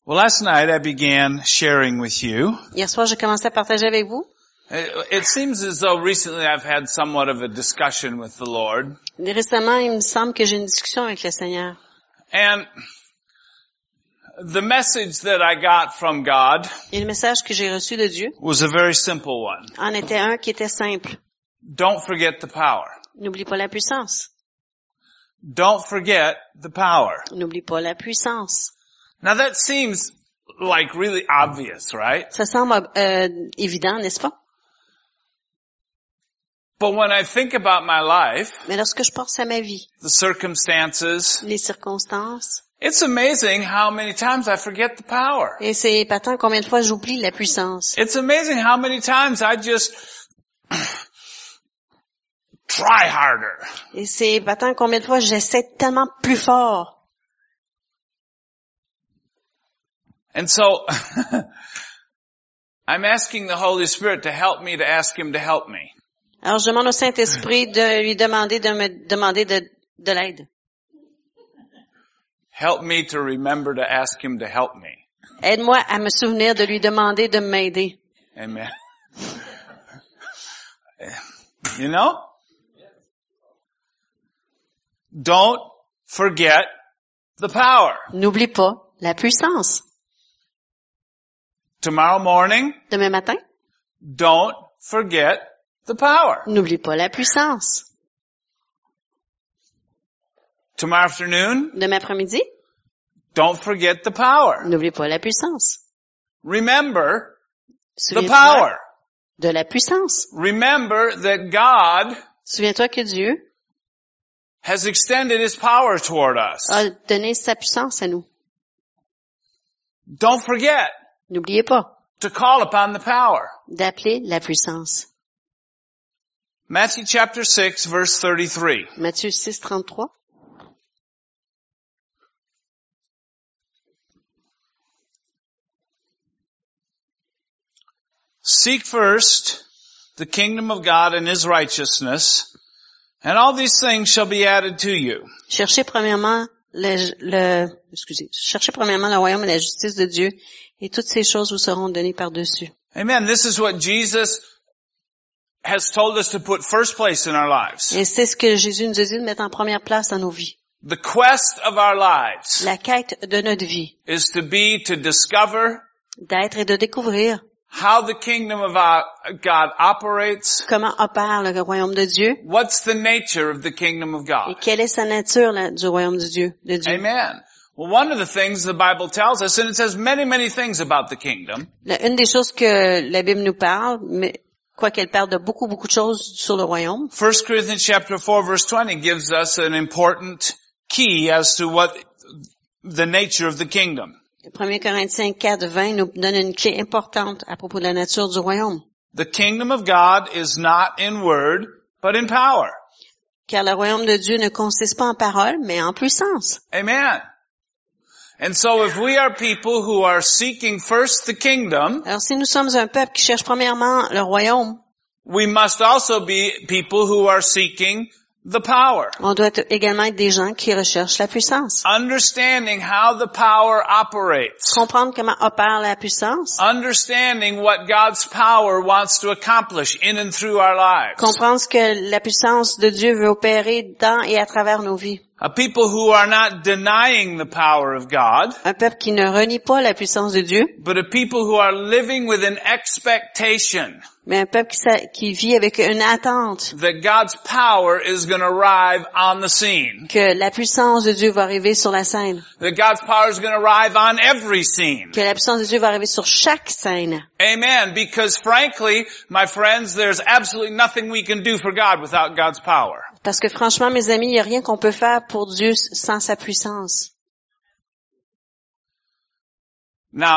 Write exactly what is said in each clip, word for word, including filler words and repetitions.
Well, last night I began sharing with you. Hier soir, j'ai commencé à partager avec vous. It, it seems as though recently I've had somewhat of a discussion with the Lord. Récemment, il me semble que j'ai une discussion avec le Seigneur. And the message that I got from God Et le message que j'ai reçu de Dieu was a very simple one. en était un qui était simple. Don't forget the power. N'oublie pas la puissance. Don't forget the power. N'oublie pas la puissance. Now that seems like really obvious, right? Ça semble euh, évident, n'est-ce pas? But when I think about my life, Mais lorsque je pense à ma vie, the circumstances, les circonstances, it's amazing how many times I forget the power. et c'est épatant combien de fois j'oublie la puissance. It's amazing how many times I just try harder. Et c'est épatant combien de fois j'essaie tellement plus fort. And so, I'm asking the Holy Spirit to help me to ask Him to help me. Alors je demande au Saint-Esprit de lui demander de me demander de, de l'aide. Help me to remember to ask Him to help me. Aide-moi à me souvenir de lui demander de m'aider. Amen. You know? Don't forget the power. N'oublie pas la puissance. Tomorrow morning, Demain matin, don't forget the power. n'oublie pas la puissance. Tomorrow afternoon, Demain après-midi, don't forget the power. n'oublie pas la puissance. Remember the Souviens-toi power. de la puissance. Remember that God Souviens-toi que Dieu has extended His power toward us. a donné sa puissance à nous. Don't forget N'oubliez pas to call upon the power. d'appeler la puissance. Matthew chapter six, verse thirty-three. Matthieu six, trente-trois. Seek first the kingdom of God and His righteousness, and all these things shall be added to you. Cherchez premièrement le, le, excusez, cherchez premièrement le royaume et la justice de Dieu, et toutes ces choses vous seront données par-dessus. Amen. This is what Jesus has told us to put first place in our lives. Et c'est ce que Jésus nous a dit de mettre en première place dans nos vies. The quest of our lives La quête de notre vie, is to be to discover d'être et de découvrir how the kingdom of our God operates. comment opère le royaume de Dieu What's the nature of the kingdom of et God? quelle est sa nature là, du royaume de Dieu. De Dieu. Amen. Well, one of the things the Bible tells us, and it says many, many things about the kingdom, La- une des choses que la Bible nous parle, mais quoi qu'elle parle de beaucoup, beaucoup de choses sur le royaume, First Corinthians chapter four verse twenty gives us an important key as to what the nature of the kingdom. premier Corinthiens quatre, vingt nous donne une clé importante à propos de la nature du royaume. The kingdom of God is not in word, but in power. Car le royaume de Dieu ne consiste pas en paroles, mais en puissance. Amen. And so if we are people who are seeking first the kingdom, Alors si nous sommes un peuple qui cherche premièrement le royaume, we must also be people who are seeking the power. on doit être- également être des gens qui recherchent la puissance. Understanding how the power operates. Comprendre comment opère la puissance. Understanding what God's power wants to accomplish in and through our lives. Comprendre ce que la puissance de Dieu veut opérer dans et à travers nos vies. A people who are not denying the power of God, Un peuple qui ne renie pas la puissance de Dieu, but a people who are living with an expectation mais un peuple qui, sa- qui vit avec une attente that God's power is going to arrive on the scene. que la puissance de Dieu va arriver sur la scène. That God's power is going to arrive on every scene. Que la puissance de Dieu va arriver sur chaque scène. Amen. Because frankly, my friends, there's absolutely nothing we can do for God without God's power. Parce que franchement, mes amis, il n'y a rien qu'on peut faire pour Dieu sans sa puissance. Now,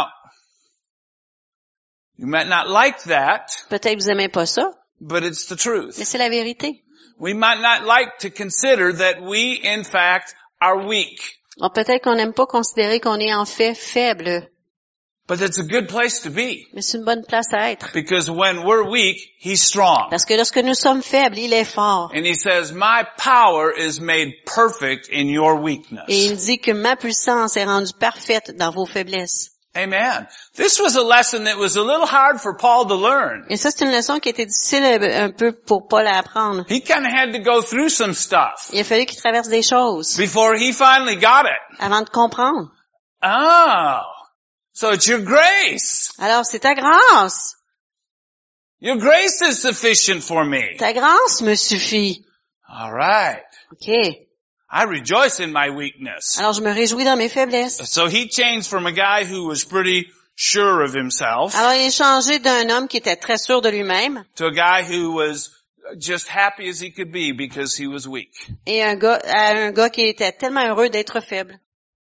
you might not like that, Peut-être que vous n'aimez pas ça, but it's the mais truth. c'est la vérité. We might not like to consider that we, in fact, are weak. Alors peut-être qu'on n'aime pas considérer qu'on est en fait faible, But it's a good place to be. mais c'est une bonne place à être. Because when we're weak, He's strong. Parce que lorsque nous sommes faibles, il est fort. And He says, my power is made perfect in your Et il weakness. dit que ma puissance est rendue parfaite dans vos faiblesses. Amen. This was a lesson that was a little hard for Paul to learn. Et ça, c'est une leçon qui était difficile un peu pour Paul à apprendre. He kind of had to go through some stuff Il a fallu qu'il traverse des choses before he finally got it. avant de comprendre. Oh, so it's your grace. Alors, c'est ta grâce. Your grace is sufficient for me. Ta grâce me suffit. All right. OK. I rejoice in my weakness. Alors, je me réjouis dans mes faiblesses. So he changed from a guy who was pretty sure of himself Alors, il est changé d'un homme qui était très sûr de lui-même to a guy who was just happy as he could be because he was weak. et un gars, à un gars qui était tellement heureux d'être faible.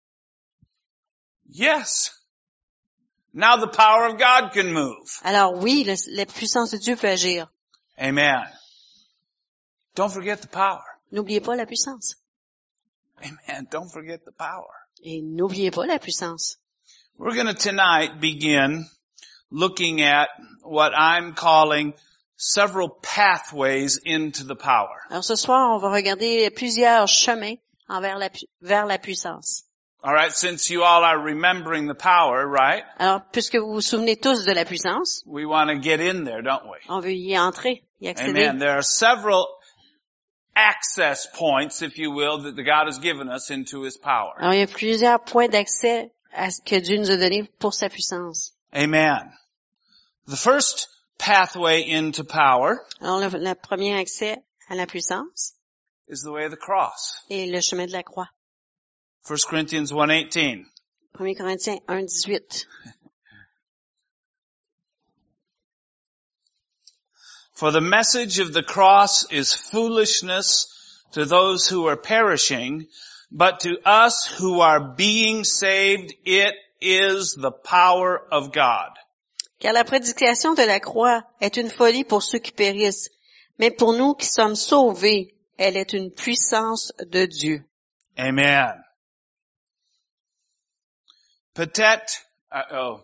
Yes. Now the power of God can move. Alors oui, le, la puissance de Dieu peut agir. Amen. Don't forget the power. N'oubliez pas la puissance. Amen. Don't forget the power. Et n'oubliez pas la puissance. We're going to tonight begin looking at what I'm calling several pathways into the power. Alors ce soir, on va regarder plusieurs chemins envers la, vers la puissance. All right, since you all are remembering the power, right? Alors, puisque vous vous souvenez tous de la puissance, We want to get in there, don't we? on veut y entrer, y accéder. Amen. There are several access points, if you will, that the God has given us into His power. Alors, il y a plusieurs points d'accès à ce que Dieu nous a donné pour sa puissance. Amen. The first pathway into power Alors, le, le premier accès à la puissance is the way of the cross. est le chemin de la croix. First Corinthians one eighteen. premier Corinthiens un dix-huit. For the message of the cross is foolishness to those who are perishing, but to us who are being saved, it is the power of God. Car la prédication de la croix est une folie pour ceux qui périssent, mais pour nous qui sommes sauvés, elle est une puissance de Dieu. Amen. Peut-être, uh, oh,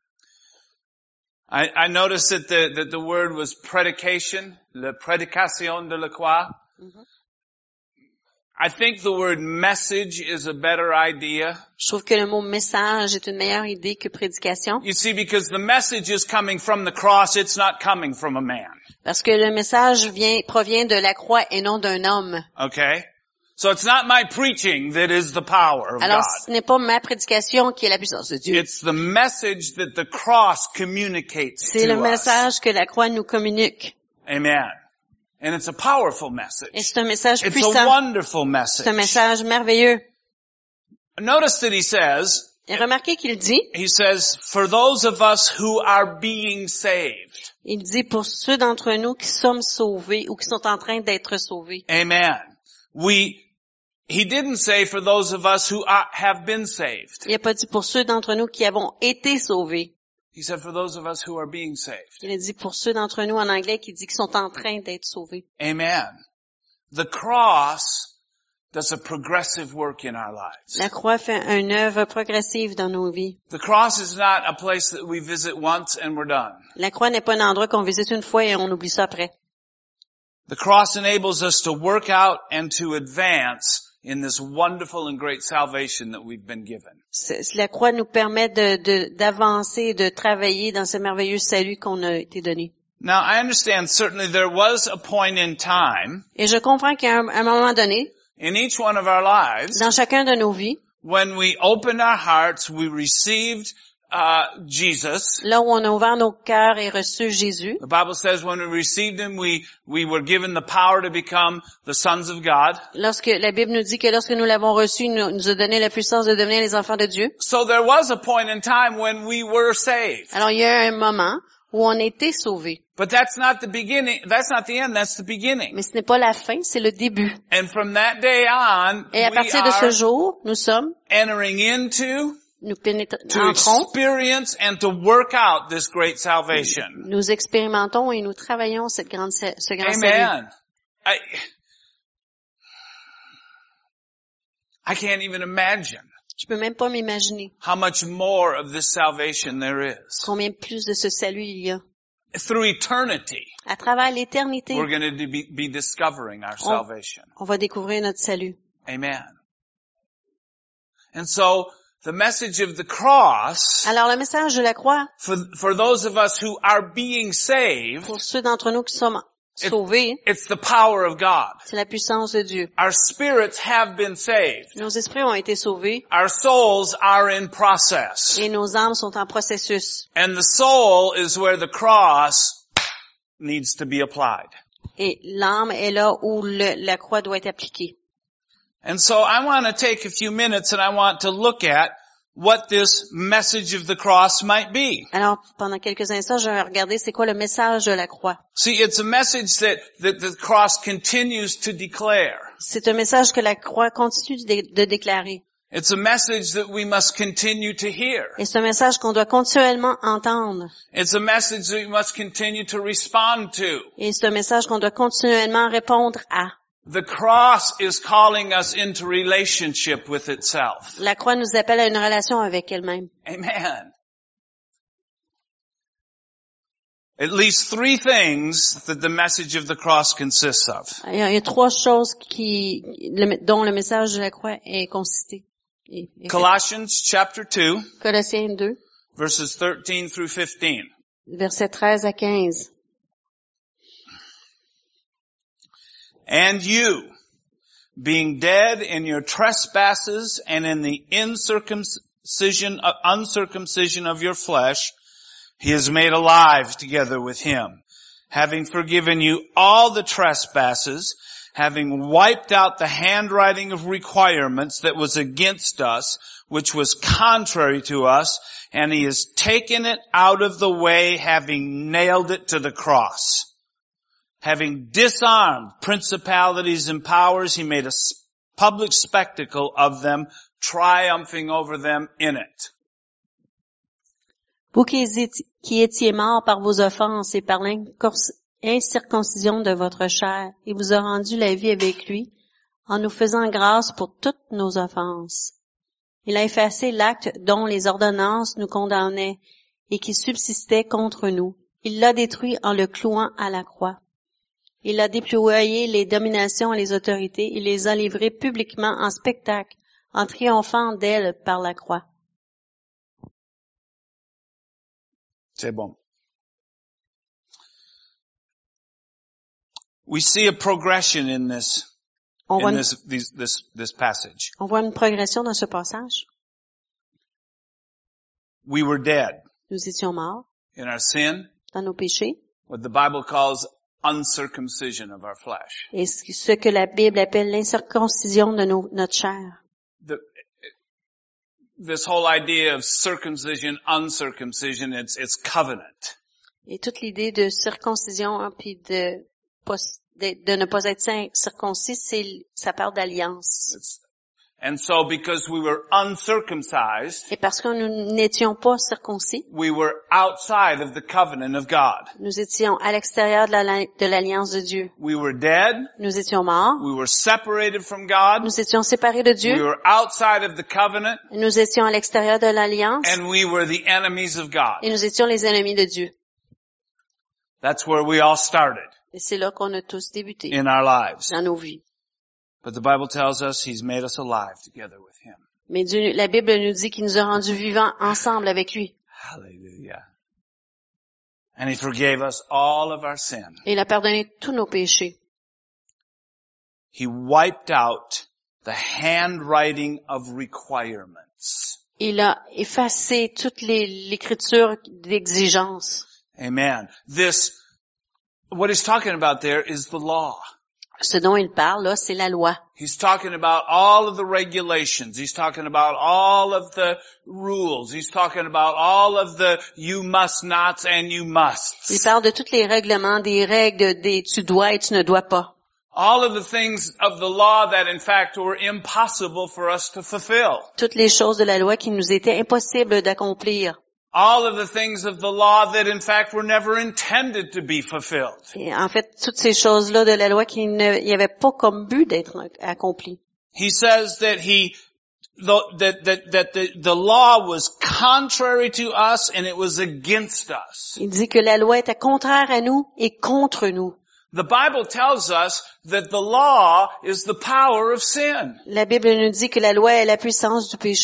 I, I noticed that the, that the word was predication, la prédication de la croix. Mm-hmm. I think the word message is a better idea. Je trouve que le mot message est une meilleure idée que prédication. You see, because the message is coming from the cross, it's not coming from a man. Parce que le message vient, provient de la croix et non d'un homme. Okay? So it's not my preaching that is the power of Alors, God. ce n'est pas ma prédication qui est la puissance de Dieu. It's the message that the cross communicates C'est to le us. message que la croix nous communique. Amen. And it's a powerful message. Et c'est un message It's a puissant. wonderful C'est message. un message merveilleux. Notice that he says, Et remarquez qu'il dit, he says, for those of us who are being saved. il dit pour ceux d'entre nous qui sommes sauvés ou qui sont en train d'être sauvés. Amen. We, he didn't say for those of us who are, have been saved. Il n'a pas dit pour ceux d'entre nous qui avons été sauvés. He said for those of us who are being saved. Il a dit pour ceux d'entre nous en anglais qui dit qu'ils sont en train d'être sauvés. Amen. The cross does a progressive work in our lives. La croix fait une œuvre progressive dans nos vies. The cross is not a place that we visit once and we're done. La croix n'est pas un endroit qu'on visite une fois et on oublie ça après. The cross enables us to work out and to advance in this wonderful and great salvation that we've been given. C'est- La croix nous permet de, de, d'avancer, de travailler dans ce merveilleux salut qu'on a été donné. Now, I understand certainly there was a point in time Et je comprends qu'à un, à un moment donné, in each one of our lives dans chacun de nos vies, when we opened our hearts, we received uh Jesus. là où on a ouvert nos cœurs et reçu Jésus, The Bible says when we received Him, we, we were given the power to become the sons of God. lorsque la Bible nous dit que lorsque nous l'avons reçu, il nous, nous a donné la puissance de devenir les enfants de Dieu. So there was a point in time when we were saved. Alors il y a un moment où on a été sauvés. But that's not the beginning, that's not the end, that's the beginning. Mais ce n'est pas la fin, c'est le début. And from that day on, Et à we partir de ce are jour, nous sommes, entering into, nous pénétrons, to entrons, experience and to work out this great salvation. nous expérimentons et nous travaillons cette grande, sa- ce grand salut. Amen. I, I can't even imagine Je peux même pas m'imaginer how much more of this salvation there is. combien plus de ce salut il y a. Through eternity, À travers l'éternité, we're going to be, be discovering our salvation. on va découvrir notre salut. Amen. And so, The message of the cross, Alors le message de la croix, for, for those of us who are being saved, pour ceux d'entre nous qui sommes it- sauvés, it's the power of God. c'est la puissance de Dieu. Our spirits have been saved. Nos esprits ont été sauvés Our souls are in process. et nos âmes sont en processus. And the soul is where the cross needs to be applied. Et l'âme est là où le- la croix doit être appliquée. And so I want to take a few minutes and I want to look at what this message of the cross might be. Alors, pendant quelques instants, je vais regarder c'est quoi le message de la croix. See, it's a message that, that the cross continues to declare. C'est un message que la croix continue de, de déclarer. It's a message that we must continue to hear. Et c'est un message qu'on doit continuellement entendre. It's a message that we must continue to respond to. Et c'est un message qu'on doit continuellement répondre à. The cross is calling us into relationship with itself. La croix nous appelle à une relation avec elle-même. Amen. At least three things that the message of the cross consists of. Il y a, il y a trois choses qui, le- dont le message de la croix est consisté. Et- et- Colossians chapter two, Colossiens deux, verses thirteen through fifteen. versets treize à quinze. And you, being dead in your trespasses and in the incircumcision, uh, uncircumcision of your flesh, he is made alive together with him, having forgiven you all the trespasses, having wiped out the handwriting of requirements that was against us, which was contrary to us, and he has taken it out of the way, having nailed it to the cross. Having disarmed principalities and powers, he made a public spectacle of them, triumphing over them in it. Vous qui étiez, qui étiez morts par vos offenses et par l'incirconcision de votre chair, il vous a rendu la vie avec lui, en nous faisant grâce pour toutes nos offenses. Il a effacé l'acte dont les ordonnances nous condamnaient et qui subsistait contre nous. Il l'a détruit en le clouant à la croix. Il a déployé les dominations et les autorités, il les a livrées publiquement en spectacle, en triomphant d'elles par la croix. C'est bon. We see a progression in this, On voit, in une, this, this, this, this passage. on voit une progression dans ce passage. We were dead Nous étions morts in our sin, dans nos péchés, what the Bible calls uncircumcision of our flesh. et ce que la Bible appelle l'incirconcision de nos, notre chair. The, this whole idea of circumcision, uncircumcision, it's, it's covenant. Et toute l'idée de circoncision, hein, puis de, de, de ne pas être circoncis, c'est, ça parle d'alliance. It's, and so because we were uncircumcised, Et parce que nous n'étions pas circoncis, we were outside of the covenant of God. nous étions à l'extérieur de, la, de l'alliance de Dieu. We were dead. Nous étions morts. We were separated from God. Nous étions séparés de We Dieu. were outside of the covenant. Nous étions à l'extérieur de l'alliance. And we were the enemies of God. Et nous étions les ennemis de Dieu. That's where we all started Et c'est là qu'on a tous débuté in our lives. dans nos vies. But the Bible tells us He's made us alive together with Him. Mais Dieu, la Bible nous dit qu'il nous a rendus vivants ensemble avec lui. Hallelujah. And He forgave us all of our sin. Et il a pardonné tous nos péchés. He wiped out the handwriting of requirements. Il a effacé toute les, l'écriture d'exigence. Amen. This, what He's talking about there is the law. Ce dont il parle, là, c'est la loi. He's talking about all of the regulations. He's talking about all of the rules. He's talking about all of the you must nots and you musts. Il parle de tous les règlements, des règles, des tu dois et tu ne dois pas. All of the things of the law that in fact were impossible for us to fulfill. Toutes les choses de la loi qui nous étaient impossibles d'accomplir. All of the things of the law that in fact were never intended to be fulfilled. Et en fait, toutes ces choses-là de la loi qui ne, il y avait pas comme but d'être accomplies. He says that he, that, that, that the, the law was contrary to us and it was against us. Il dit que la loi était contraire à nous et contre nous. The Bible tells us that the law is the power of sin. La Bible nous dit que la loi est la puissance du péché.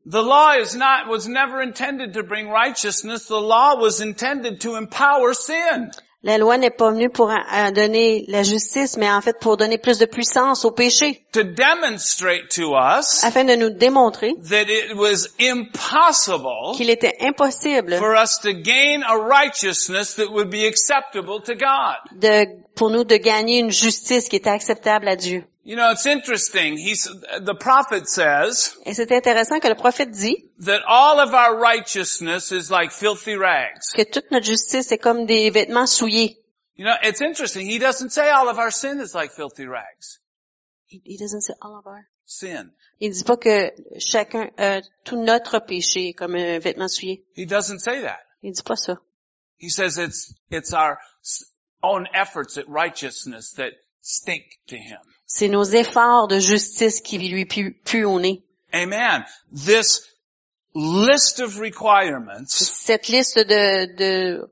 The law is not, was never intended to bring righteousness. The law was intended to empower sin. La loi n'est pas venue pour euh, donner la justice, mais en fait pour donner plus de puissance au péché, To demonstrate to us afin de nous démontrer that it was impossible qu'il était impossible for us to gain a righteousness that would be acceptable to God. de, pour nous de gagner une justice qui était acceptable à Dieu. You know, it's interesting. He's, the prophet says Et c'est intéressant que le prophète dit that all of our righteousness is like filthy rags. que toute notre justice est comme des vêtements souillés. You know, it's interesting. He doesn't say all of our sin is like filthy rags. He, he doesn't say all of our. Sin. Il dit pas que chacun, euh, tout notre péché est comme un vêtement souillé. He doesn't say that. Il dit pas ça. He says it's, it's our own efforts at righteousness that stink to him. C'est nos efforts de justice qui lui puent, puent au nez. Amen. This list of requirements Cette liste de, de,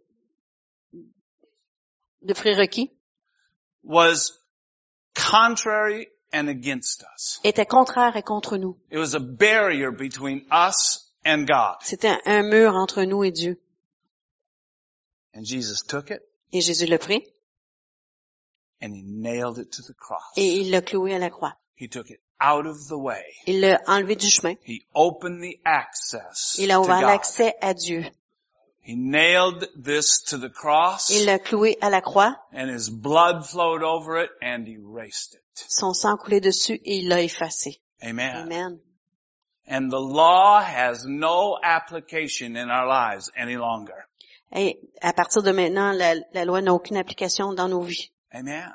de prérequis was contrary and against us. était contraire et contre nous. It was a barrier between us and God. C'était un, un mur entre nous et Dieu. And Jesus took it Et Jésus l'a pris and he nailed it to the cross. et il l'a cloué à la croix. He took it out of the way. Il l'a enlevé du chemin. He opened the access Il a to ouvert God. l'accès à Dieu. He nailed this to the cross Il l'a cloué à la croix. and his blood flowed over it and erased it. Son sang coulait dessus et il l'a effacé. Amen. Amen. And the law has no application in our lives any longer. Et à partir de maintenant, la, la loi n'a aucune application dans nos vies. Amen.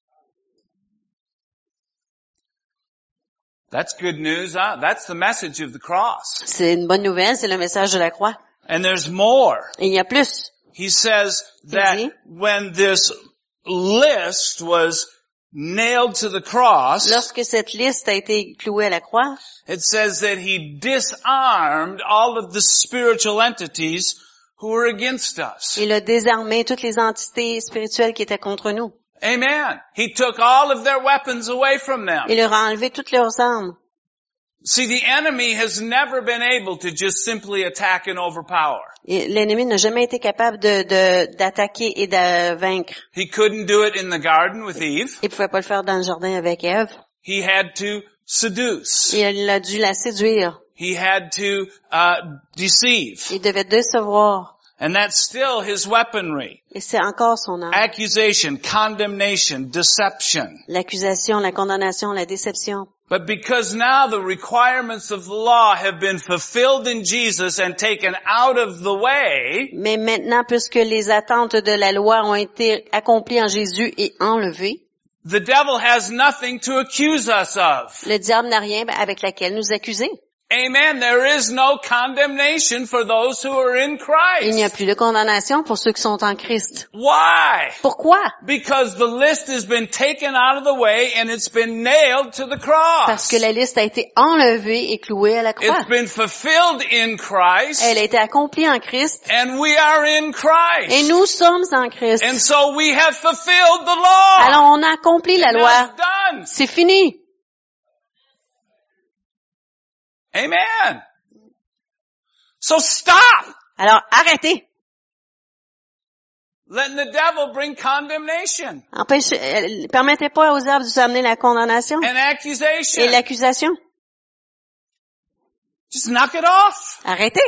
That's good news, huh? That's the message of the cross. C'est une bonne nouvelle, c'est le message de la croix. And there's more. Et il y a plus. He says that dit? when this list was nailed to the cross, Lorsque cette liste a été clouée à la croix, it says that he disarmed all of the spiritual entities who were against us. il a désarmé toutes les entités spirituelles qui étaient contre nous. Amen. He took all of their weapons away from them. Il leur a enlevé toutes leurs armes. See, the enemy has never been able to just simply attack and overpower. Et l'ennemi n'a jamais été capable de, de, d'attaquer et de vaincre. He couldn't do it in the garden with Eve. Il pouvait pas le faire dans le jardin avec Ève. He had to seduce. Et il a dû la séduire. He had to uh deceive. Il devait décevoir. And that's still his weaponry. Et c'est encore son arme. Accusation, condemnation, deception. L'accusation, la condamnation, la déception. But because now the requirements of the law have been fulfilled in Jesus and taken out of the way, Mais maintenant, puisque les attentes de la loi ont été accomplies en Jésus et enlevées, the devil has nothing to accuse us of. le diable n'a rien avec laquelle nous accuser. Amen. There is no condemnation for those who are in Il n'y a Christ. plus de condamnation pour ceux qui sont en Christ. Why? Pourquoi? Because the list has been taken out of the way and it's been nailed to the cross. Parce que la liste a été enlevée et clouée à la croix. It's been fulfilled in Christ Elle a été accomplie en Christ and we are in et Christ. nous sommes en Christ. And so we have fulfilled the law. Alors on a accompli la And loi. that's done. C'est fini. Amen. So stop Alors arrêtez. letting the devil bring condemnation Empêchez, euh, permettez pas aux diables de vous amener la condamnation and accusation. et l'accusation. Just knock it off. Arrêtez.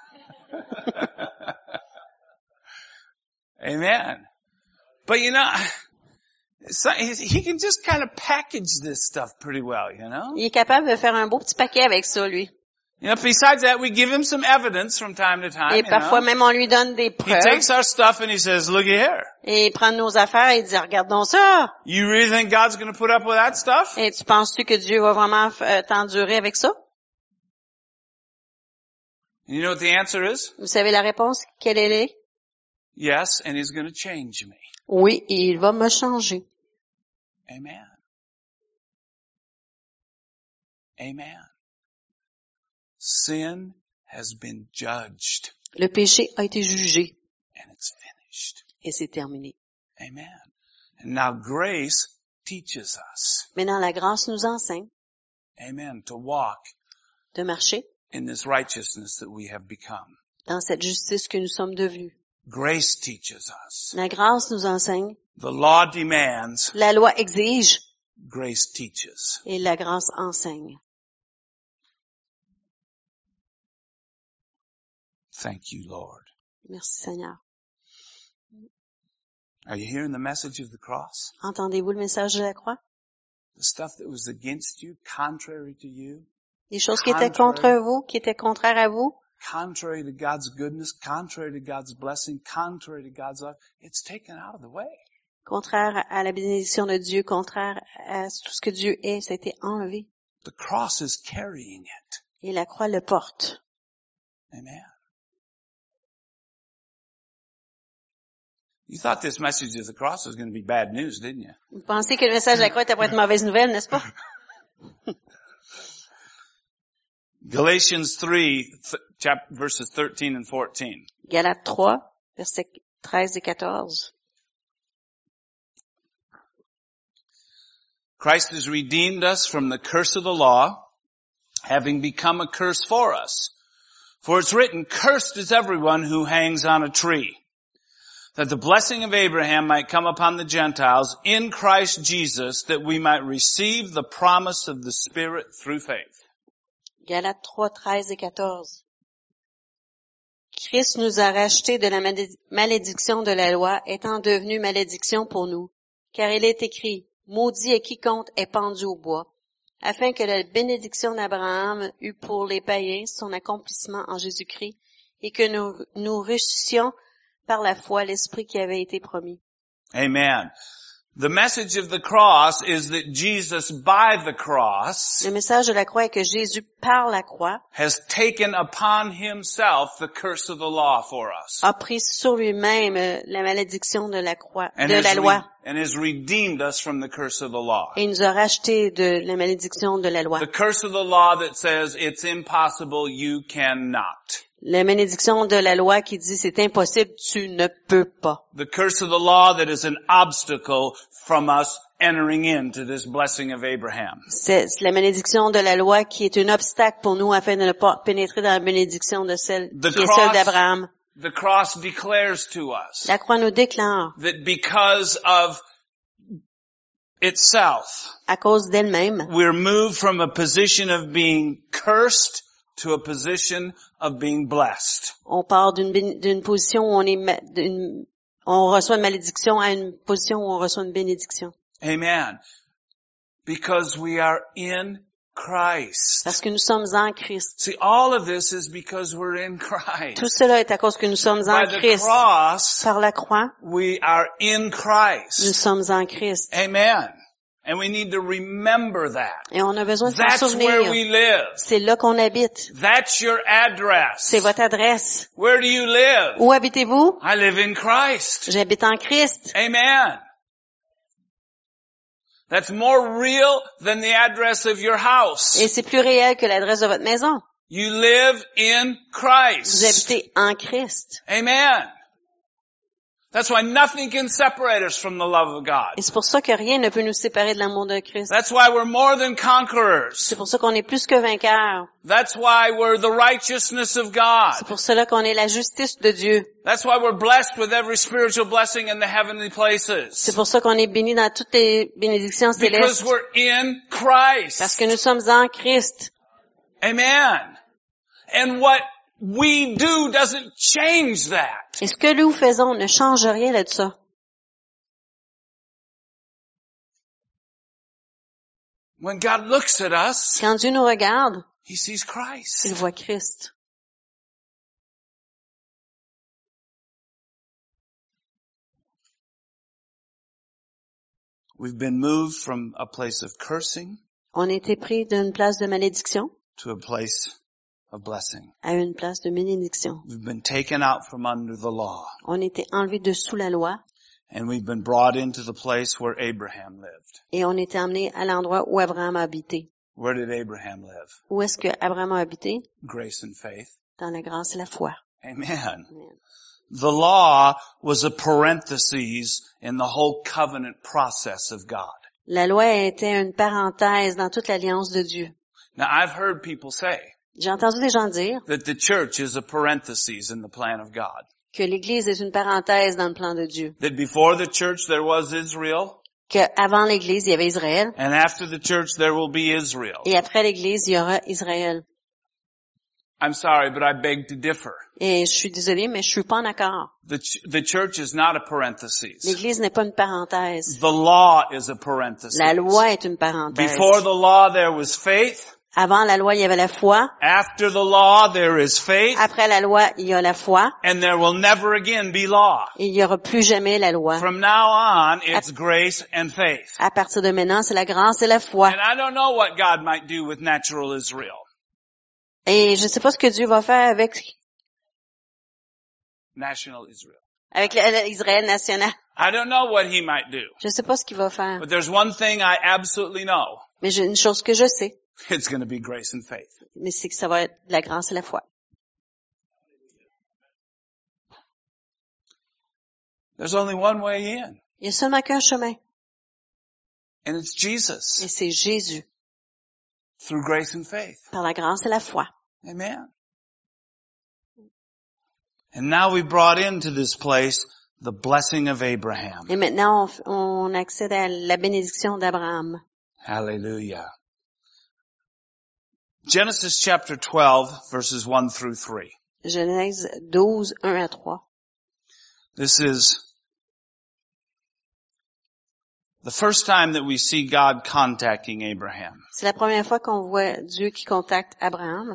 Amen. But you know, so he can just kind of package this stuff pretty well, you know? Il est capable de faire un beau petit paquet avec ça, lui. You know, besides that, we give him some evidence from time to time, Et you parfois know? même on lui donne des He preuves. takes our stuff and he says, looky here. Et il prend nos affaires et il dit, regarde donc ça. You really think God's going to put up with that stuff? Et tu penses-tu que Dieu va vraiment euh, t'endurer avec ça? And you know what the answer is? Vous savez la réponse? Quelle elle est? Yes, and he's going to change me. Oui, et il va me changer. Amen. Amen. Sin has been judged Le péché a été jugé and it's finished. et c'est terminé. Amen. And now grace teaches us. Maintenant, la grâce nous enseigne Amen. To walk de marcher in this righteousness that we have become. dans cette justice que nous sommes devenus. Grace teaches us. La grâce nous enseigne, The law demands, la loi exige grace teaches. et la grâce enseigne. Thank you, Lord. Merci Seigneur. Are you hearing the message of the cross? Entendez-vous le message de la croix? The stuff that was against you, contrary to you, Les choses qui étaient contre vous, qui étaient contraires à vous, contrary to God's goodness, contrary to God's blessing, contrary to God's love, it's taken out of the way. contraires à la bénédiction de Dieu, contraires à tout ce que Dieu est, ça a été enlevé. The cross is carrying it. Et la croix le porte. Amen. You thought this message of the cross was going to be bad news, didn't you? Vous pensez que le message de la croix était pour être mauvaise nouvelle, n'est-ce pas? Galatians three, th- chap- verses thirteen and fourteen. Galates trois, versets treize et quatorze. Christ has redeemed us from the curse of the law, having become a curse for us. For it's written, cursed is everyone who hangs on a tree, that the blessing of Abraham might come upon the Gentiles in Christ Jesus, that we might receive the promise of the Spirit through faith. Galates trois, treize et quatorze. Christ nous a rachetés de la malé- malédiction de la loi, étant devenu malédiction pour nous. Car il est écrit, maudit est quiconque est pendu au bois, afin que la bénédiction d'Abraham eût pour les païens son accomplissement en Jésus-Christ, et que nous, nous reçussions par la foi l'Esprit qui avait été promis. Amen. The message of the cross is that Jesus, by the cross, Le message de la croix est que Jésus, par la croix, has taken upon himself the curse of the law for us. a pris sur lui-même euh, la malédiction de la croix, And de has, la loi, re- and has redeemed us from the curse of the law. et nous a rachetés de la malédiction de la loi. The curse of the law that says it's impossible, you cannot. La malédiction de la loi qui dit c'est impossible, tu ne peux pas. The curse of the law that is an obstacle from us entering into this blessing of Abraham. C'est la malédiction de la loi qui est un obstacle pour nous afin de ne pas pénétrer dans la bénédiction de celle The qui est cross- celle d'Abraham. The cross declares to us La croix nous déclare, that because of itself, à cause d'elle-même, we're moved from a position of being cursed to a position of being blessed. on part d'une, béni- d'une position où on est, ma- d'une- on reçoit une malédiction à une position où on reçoit une bénédiction. Amen. Because we are in Christ. Parce que nous sommes en Christ. See, all of this is because we're in Christ. Tout cela est à cause que nous sommes en By the Christ. cross, Par la croix, we are in nous Christ. sommes en Christ. Amen. And we need to remember that. Et on a besoin de s'en That's where souvenir. we live. C'est là qu'on habite. That's your address. C'est votre adresse. Where do you live? Où habitez-vous? I live in Christ. J'habite en Christ. Amen. That's more real than the address of your house. Et c'est plus réel que l'adresse de votre maison. You live in Vous Christ. habitez en Christ. Amen. That's why nothing can separate us from the love of God. Et c'est pour ça que rien ne peut nous séparer de l'amour de Christ. That's why we're more than conquerors. C'est pour ça qu'on est plus que vainqueurs. That's why we're the righteousness of God. C'est pour cela qu'on est la justice de Dieu. That's why we're blessed with every spiritual blessing in the heavenly C'est places. pour ça qu'on est béni dans toutes les bénédictions Because célestes. we're in Christ. Parce que nous sommes en Christ. Amen. And what we do doesn't change that. Et ce que nous faisons ne change rien de ça. When God looks at us, Quand Dieu nous regarde, He sees Christ. il voit Christ. We've been moved from a place of cursing On a été pris d'une place de malédiction to a place of blessing. à une place de bénédiction. We've been taken out from under the law, On a été enlevé de sous la loi and we've been brought into the place where Abraham lived. et on a été emmené à l'endroit où Abraham a habité. Where did Abraham live? Où est-ce que Abraham a habité? Grace and faith. Dans la grâce et la foi. Amen. Amen. The law was a parenthesis in the whole covenant process of God. La loi était une parenthèse dans toute l'alliance de Dieu. Now I've heard people say, J'ai entendu des gens dire that the church is a parenthesis in the plan of God. que l'Église est une parenthèse dans le plan de Dieu. That before the church there was Israel, Qu'avant l'Église, il y avait Israël, and after the church there will be Israel. et après l'Église, il y aura Israël. I'm sorry, but I beg to differ. Et je suis désolée, mais je suis pas en accord. The, ch- the church is not a parenthesis. L'Église n'est pas une parenthèse. The law is a parenthesis. La loi est une parenthèse. Before the law there was faith. Avant la loi, il y avait la foi. After the law there is faith. Après la loi, il y a la foi. And there will never again be law. Et il y aura plus jamais la loi. From now on, it's grace and faith. À partir de maintenant, c'est la grâce et la foi. And I don't know what God might do with natural Israel. Et je sais pas ce que Dieu va faire avec, National Israel. avec l'Israël national. I don't know what he might do. Je sais pas ce qu'il va faire. But there's one thing I absolutely know. Mais j'ai une chose que je sais. It's going to be grace and faith. Mais c'est que ça va être la grâce et la foi. There's only one way in. Il y a seulement qu'un chemin. And it's Jesus. Et c'est Jésus. Through grace and faith. Par la grâce et la foi. Amen. And now we brought into this place the blessing of Abraham. Et maintenant, on, on accède à la bénédiction d'Abraham. Hallelujah. Genesis chapter twelve, verses one through three. Genèse douze, un à trois. This is the first time that we see God contacting Abraham. C'est la première fois qu'on voit Dieu qui contacte Abraham.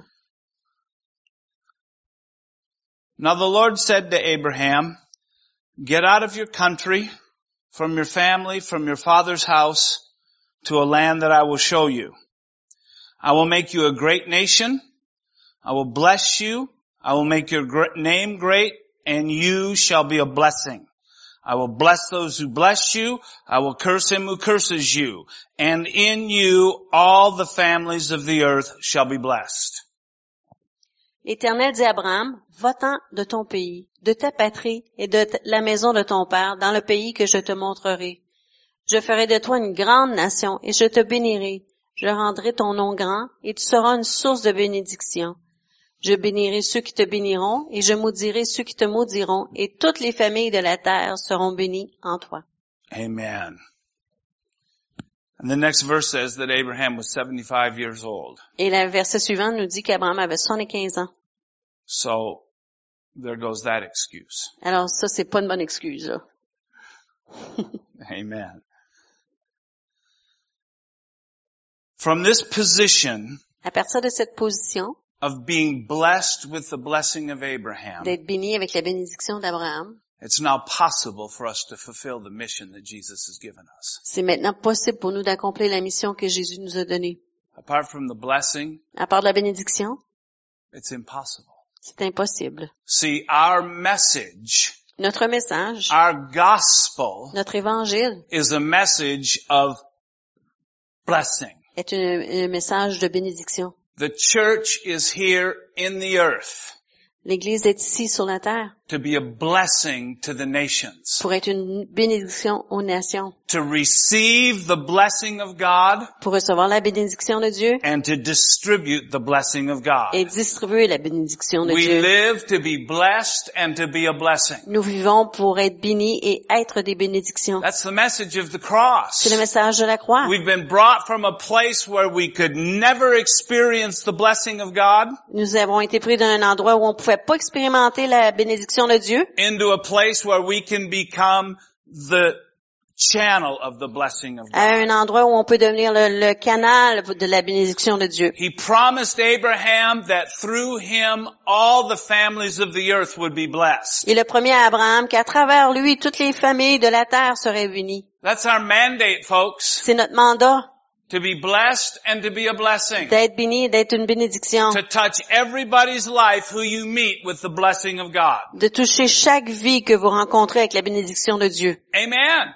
Now the Lord said to Abraham, get out of your country, from your family, from your father's house, to a land that I will show you. I will make you a great nation. I will bless you. I will make your gr- name great, and you shall be a blessing. I will bless those who bless you. I will curse him who curses you. And in you all the families of the earth shall be blessed. L'Éternel dit à Abraham, va-t'en de ton pays, de ta patrie et de t- la maison de ton père, dans le pays que je te montrerai. Je ferai de toi une grande nation et je te bénirai. Je rendrai ton nom grand et tu seras une source de bénédiction. Je bénirai ceux qui te béniront et je maudirai ceux qui te maudiront et toutes les familles de la terre seront bénies en toi. Amen. And the next verse says that Abraham was seventy-five years old. Et le verset suivant nous dit qu'Abraham avait soixante-quinze ans. So, there goes that excuse. Alors ça, c'est pas une bonne excuse, là. Amen. From this position À partir de cette position, of being blessed with the blessing of Abraham, d'être béni avec la bénédiction d'Abraham, it's now possible for us to fulfill the mission that Jesus has given us. c'est maintenant possible pour nous d'accomplir la mission que Jésus nous a donnée. Apart from the blessing, À part de la bénédiction, it's impossible. c'est impossible. See, our message, Notre message, our gospel, notre évangile, is a message of blessing. est un, un message de bénédiction. The church is here in the earth L'Église est ici sur la terre to be a blessing to the nations, pour être une bénédiction aux nations, to receive the blessing of God pour recevoir la bénédiction de Dieu and to distribute the blessing of God. et distribuer la bénédiction de We Dieu. live to be blessed and to be a blessing. Nous vivons pour être bénis et être des bénédictions. That's the message of the cross. C'est le message de la croix. We've been brought from a place where we could never experience the blessing of God Nous avons été pris d'un endroit où on pouvait pas expérimenter la bénédiction de Dieu into a place where we can become the channel of the blessing of à God. un endroit où on peut devenir le, le canal de la bénédiction de Dieu. He promised Abraham that through him all the families of the earth would be blessed. Il a promis à Abraham qu'à travers lui, toutes les familles de la terre seraient bénies. That's our mandate, folks, C'est notre mandat to be blessed and to be a blessing. d'être béni et d'être une bénédiction, To touch everybody's life who you meet with the blessing of God. de toucher chaque vie que vous rencontrez avec la bénédiction de Dieu. Amen.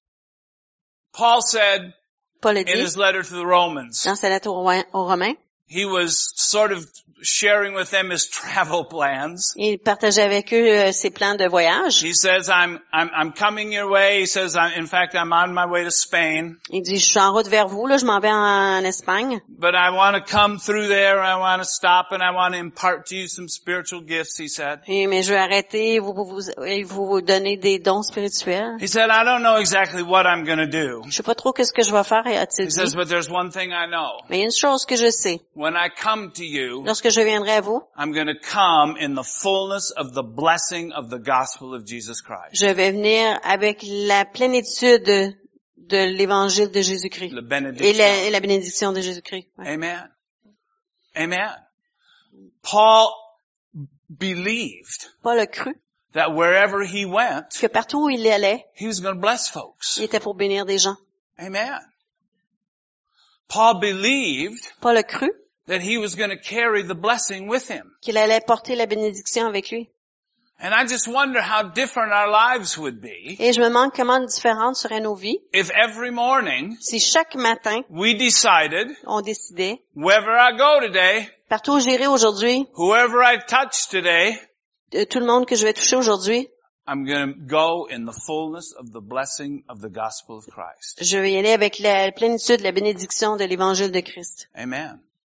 Paul said Paul a in dit his letter to the Romans, dans sa lettre aux Romains, aux Romains, he was sort of sharing with them his travel plans. Il partageait avec eux euh, ses plans de voyage. He says, I'm, I'm, I'm coming your way. He says, I'm, in fact, I'm on my way to Spain. Il dit, je suis en route vers vous, là, je m'en vais en, en Espagne. But I want to come through there. I want to stop and I want to impart to you some spiritual gifts, he said. Et, mais je vais arrêter, vous, vous, vous, et vous donner des dons spirituels. He said, I don't know exactly what I'm going to do. Je sais pas trop qu'est-ce que je vais faire, a-t-il He dit. says, but there's one thing I know. Mais il y a une chose que je sais. When I come to you, Lorsque je viendrai à vous, I'm going to come in the fullness of the blessing of the gospel of Jesus Christ. je vais venir avec la plénitude de, de l'évangile de Jésus-Christ. The Et benediction. la, et la bénédiction de Jésus-Christ. Ouais. Amen. Amen. Paul believed Paul a cru that wherever he went, que partout où il allait, he was going to bless folks. il était pour bénir des gens. Amen. Paul believed Paul a cru that he was going to carry the blessing with him. qu'il allait porter la bénédiction avec lui. And I just wonder how different our lives would be Et je me demande comment différentes seraient nos vies if every morning si chaque matin, we decided, on décidait, wherever I go today, partout où j'irai aujourd'hui, whoever I touch today, de tout le monde que je vais toucher aujourd'hui, I'm going to go in the fullness of the blessing of the gospel of Christ. je vais y aller avec la plénitude, la bénédiction de l'évangile de Christ. Amen.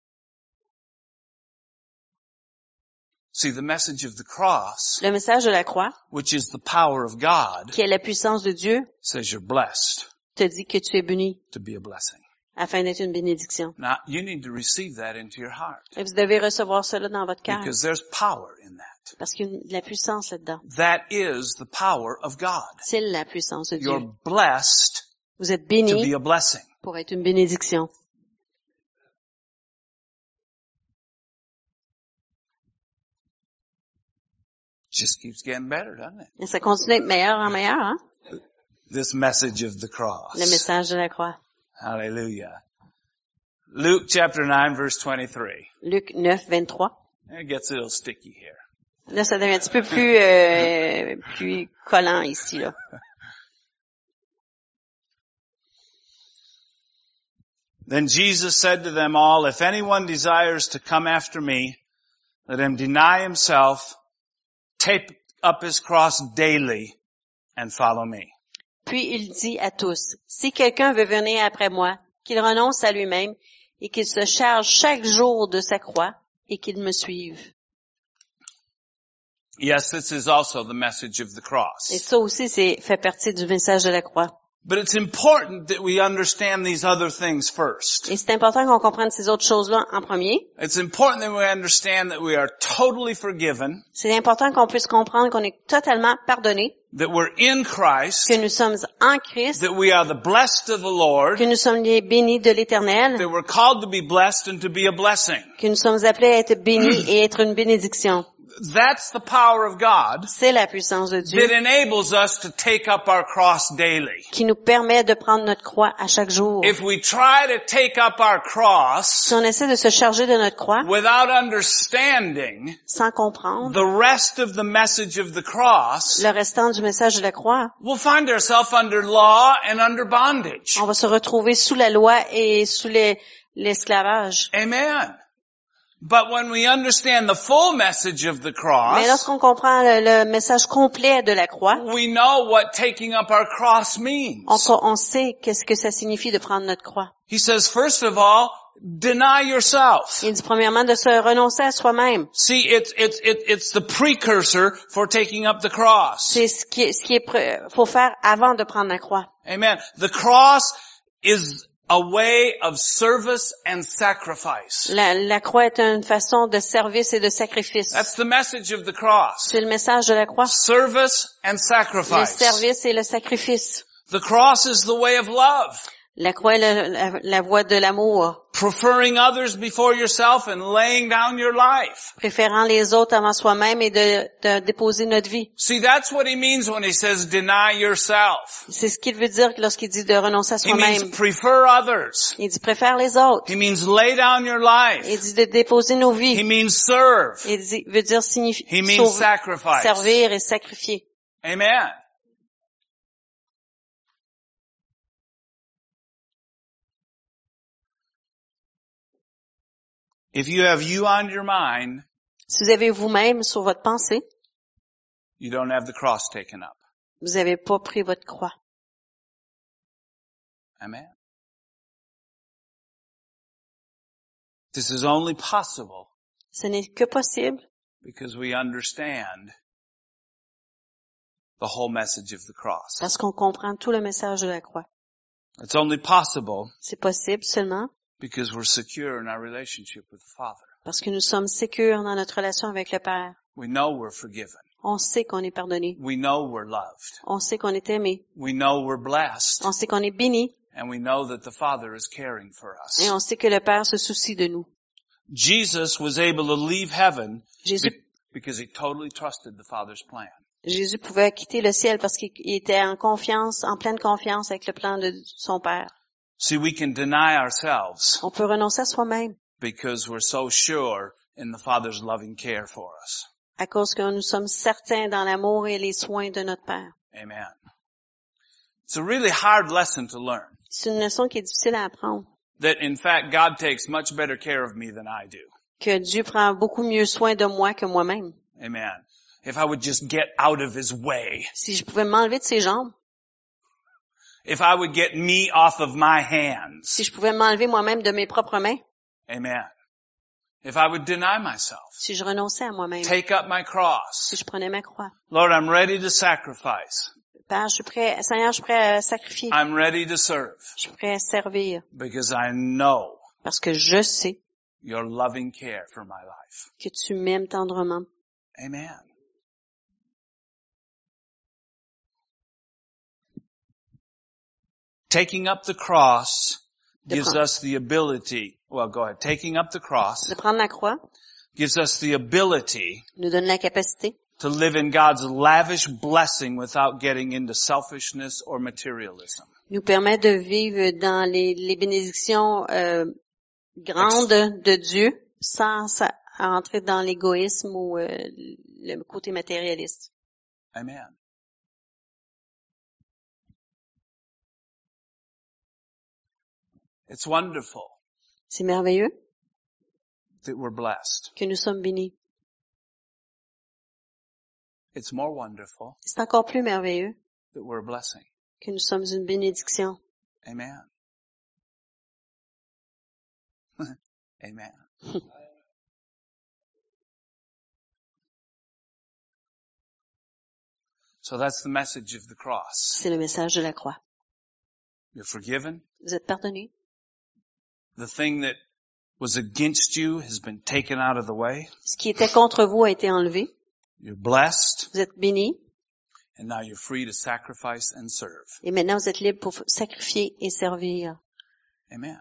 See, the message of the cross, Le message de la croix, which is the power of God, qui est la puissance de Dieu, says you're blessed te dit que tu es béni to be a blessing. afin d'être une bénédiction. Now, you need to receive that into your heart Et vous devez recevoir cela dans votre cœur because there's power in that. parce qu'il y a de la puissance là-dedans. That is the power of God. C'est la puissance de Dieu. You're blessed Vous êtes to béni be a blessing. pour être une bénédiction. Just keeps getting better, doesn't it? Et ça continue à être meilleur en meilleur, hein? This message of the cross. Le message de la croix. Hallelujah. Luke chapter nine verse twenty-three. Luc neuf, vingt-trois. It gets a little sticky here. Là, ça devient un petit peu plus, euh, plus collant ici, là. Then Jesus said to them all, if anyone desires to come after me, let him deny himself, take up his cross daily, and follow me. Puis il dit à tous, si quelqu'un veut venir après moi, qu'il renonce à lui-même et qu'il se charge chaque jour de sa croix et qu'il me suive. Yes, this is also the message of the Et cross. ça aussi, c'est fait partie du message de la croix. But it's important that we understand these other things first. Et c'est important qu'on comprenne ces autres choses-là en premier. It's important that we understand that we are totally forgiven, C'est important qu'on puisse comprendre qu'on est totalement pardonné, that we're in Christ, que nous sommes en Christ, that we are the blessed of the Lord, que nous sommes les bénis de l'Éternel, that we're called to be blessed and to be a blessing. que nous sommes appelés à être bénis et être une bénédiction. That's the power of God C'est la puissance de Dieu that enables us to take up our cross daily. qui nous permet de prendre notre croix à chaque jour. If we try to take up our cross Si on essaie de se charger de notre croix without understanding sans comprendre the rest of the message of the cross, le restant du message de la croix, we'll find ourselves under law and under bondage. on va se retrouver sous la loi et sous les- l'esclavage. Amen. But when we understand the full message of the Mais cross, lorsqu'on comprend le, le message complet de la croix, we know what taking up our cross means. on, co- on sait qu'est-ce que ça signifie de prendre notre croix. He says, first of all, deny yourself. Il dit premièrement de se renoncer à soi-même. See, it's, it's, it- it's the precursor for taking up the cross. C'est ce qui, est- ce qui est pr- faut faire avant de prendre la croix. Amen. The cross is a way of service and sacrifice. La, la croix est une façon de service et de sacrifice. That's the message of the cross. C'est le message de la croix. Service and Le sacrifice. service et le sacrifice. The cross is the way of love. La croix est la, la, la voie de l'amour. Preferring others before yourself and laying down your life. Préférant les autres avant soi-même et de, de déposer notre vie. See, that's what he means when he says deny yourself. C'est ce qu'il veut dire lorsqu'il dit de renoncer à He means soi-même. prefer others. Il dit préfère les autres. He means lay down your life. Il dit de déposer nos He vies. means serve. Il dit, veut dire signifier He means sauver, sacrifice. servir et sacrifier. Amen. If you have you on your mind, Si vous avez vous-même sur votre pensée, you don't have the cross taken up. vous n'avez pas pris votre croix. Amen. This is only possible Ce n'est que possible because we understand the whole message of the cross. parce qu'on comprend tout le message de la croix. It's only possible C'est possible seulement because we're secure in our relationship with the Father. parce que nous sommes sécures dans notre relation avec le Père. We know we're forgiven. On sait qu'on est pardonné. We know we're loved. On sait qu'on est aimé. We know we're blessed. On sait qu'on est béni. And we know that the Father is caring for us. Et on sait que le Père se soucie de nous. Jesus was able to leave heaven Jésus, be- because he totally trusted the Father's plan. Jésus pouvait quitter le ciel parce qu'il était en confiance, en pleine confiance avec le plan de son Père. See, we can deny ourselves On peut renoncer à soi-même because we're so sure in the Father's loving care for us. à cause que nous sommes certains dans l'amour et les soins de notre Père. Amen. It's a really hard lesson to learn. C'est une leçon qui est difficile à apprendre. That in fact God takes much better care of me than I do. Que Dieu prend beaucoup mieux soin de moi que moi-même. Amen. If I would just get out of his way. Si je pouvais m'enlever de ses jambes, If I would get me off of my hands. si je pouvais m'enlever moi-même de mes propres mains, Amen. If I would deny myself. si je renonçais à moi-même, Take up my cross. si je prenais ma croix. Lord, I'm ready to sacrifice. Père, je suis prêt, Seigneur, je suis prêt à sacrifier. I'm ready to serve. Je suis prêt à servir Because I know parce que je sais your loving care for my life. que tu m'aimes tendrement. Amen. Taking up the cross gives prendre- us the ability, well, go ahead. Taking up the cross De prendre la croix gives us the ability nous donne la capacité to live in God's lavish blessing without getting into selfishness or materialism. nous permet de vivre dans les, les bénédictions euh, grandes de Dieu sans sa- entrer dans l'égoïsme ou euh, le côté matérialiste. Amen. It's wonderful C'est merveilleux that we're blessed. que nous sommes bénis. It's more wonderful C'est encore plus merveilleux that we're a blessing. que nous sommes une bénédiction. Amen. Amen. So that's the message of the cross. C'est le message de la croix. You're forgiven. Vous êtes pardonnés. The thing that was against you has been taken out of the way. Ce qui était contre vous a été enlevé. You're blessed. Vous êtes bénis. And now you're free to sacrifice and serve. Et maintenant, vous êtes libres pour sacrifier et servir. Amen.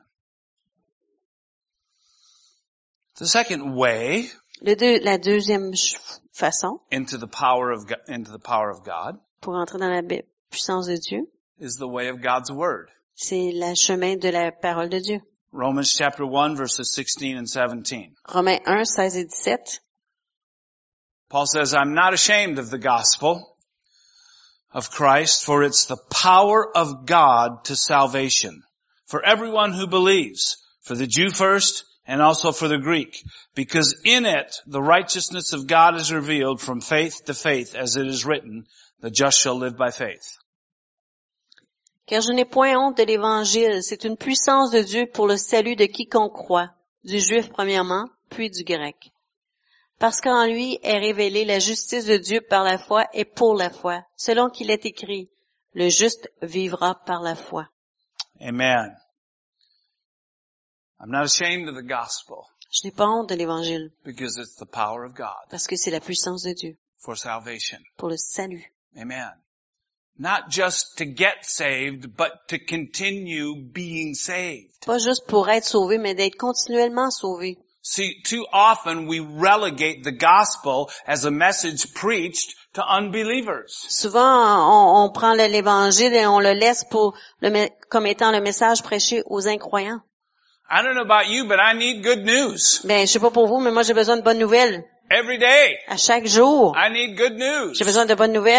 The second way Le deux, la deuxième ch- façon into the power of Go- into the power of God pour entrer dans la be- puissance de Dieu, is the way of God's word. c'est le chemin de la parole de Dieu. Romans chapter one verses sixteen and seventeen. Romains un, seize et dix-sept. Paul says, I'm not ashamed of the gospel of Christ, for it's the power of God to salvation for everyone who believes, for the Jew first and also for the Greek, because in it the righteousness of God is revealed from faith to faith, as it is written, the just shall live by faith. Car je n'ai point honte de l'Évangile, c'est une puissance de Dieu pour le salut de quiconque croit, du juif premièrement, puis du grec. Parce qu'en lui est révélée la justice de Dieu par la foi et pour la foi, selon qu'il est écrit, le juste vivra par la foi. Amen. I'm not ashamed of the gospel Je n'ai pas honte de l'Évangile, because it's the power of God parce que c'est la puissance de Dieu for salvation. pour le salut. Amen. Not just to get saved, but to continue being saved. Pas juste pour être sauvé, mais d'être continuellement sauvé. See, too often we relegate the gospel as a message preached to unbelievers. Souvent, on, on prend le- l'Évangile et on le laisse pour le, me- comme étant le message prêché aux incroyants. I don't know about you, but I need good news. Ben, je sais pas pour vous, mais moi j'ai besoin de bonnes nouvelles. Every day, À chaque jour, I need good news. j'ai besoin de bonnes nouvelles.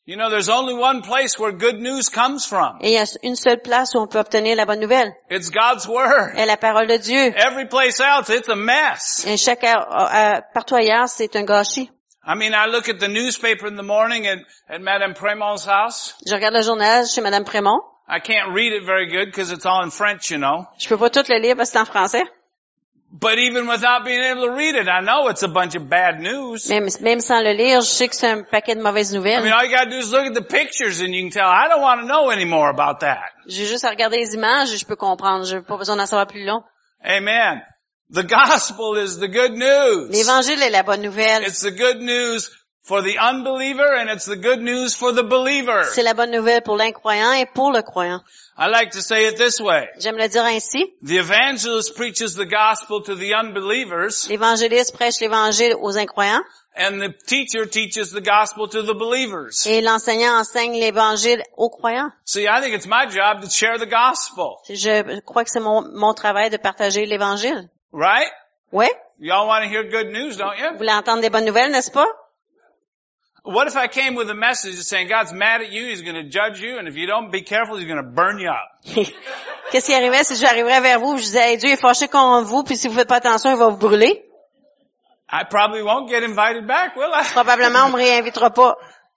You know, there's only one place where good news comes from. Et il y a une seule place où on peut obtenir la bonne nouvelle. It's God's Word. Et la parole de Dieu. Every place else, it's a mess. Et chaque, euh, euh, partout ailleurs, c'est un gâchis. I mean, I look at the newspaper in the morning at, at Madame Prémont's house. Je regarde le journal chez Madame Prémont. I can't read it very good because it's all in French, you know. Je peux pas tout le lire parce que c'est en français. But even without being able to read it, I know it's a bunch of bad news. Même, même sans le lire, je sais que c'est un paquet de mauvaises I nouvelles. mean, all you gotta do is look at the pictures and you can tell, I don't want to know any more about that. J'ai juste à regarder les images et je peux comprendre. J'ai pas besoin d'en savoir plus long. Amen. The gospel is the good news. L'évangile est la bonne nouvelle. It's the good news for the unbeliever and it's the good news for the believer. C'est la bonne nouvelle pour l'incroyant et pour le croyant. I like to say it this way. J'aime le dire ainsi. The evangelist preaches the gospel to the unbelievers L'évangéliste prêche l'évangile aux incroyants and the teacher teaches the gospel to the believers. et l'enseignant enseigne l'évangile aux croyants. See, I think it's my job to share the gospel. Je crois que c'est mon, mon travail de partager l'évangile. Right? Oui? Y'all want to hear good news, don't Vous you? voulez entendre des bonnes nouvelles, n'est-ce pas? What if I came with a message saying God's mad at you, He's going to judge you, and if you don't be careful, He's going to burn you up? Qu'est-ce qui arriverait si j'arriverais vers vous et je disais, hey, Dieu est fâché contre vous, puis si vous faites pas attention, il va vous brûler? I probably won't get invited back, will I? Probablement, on me réinvitera pas.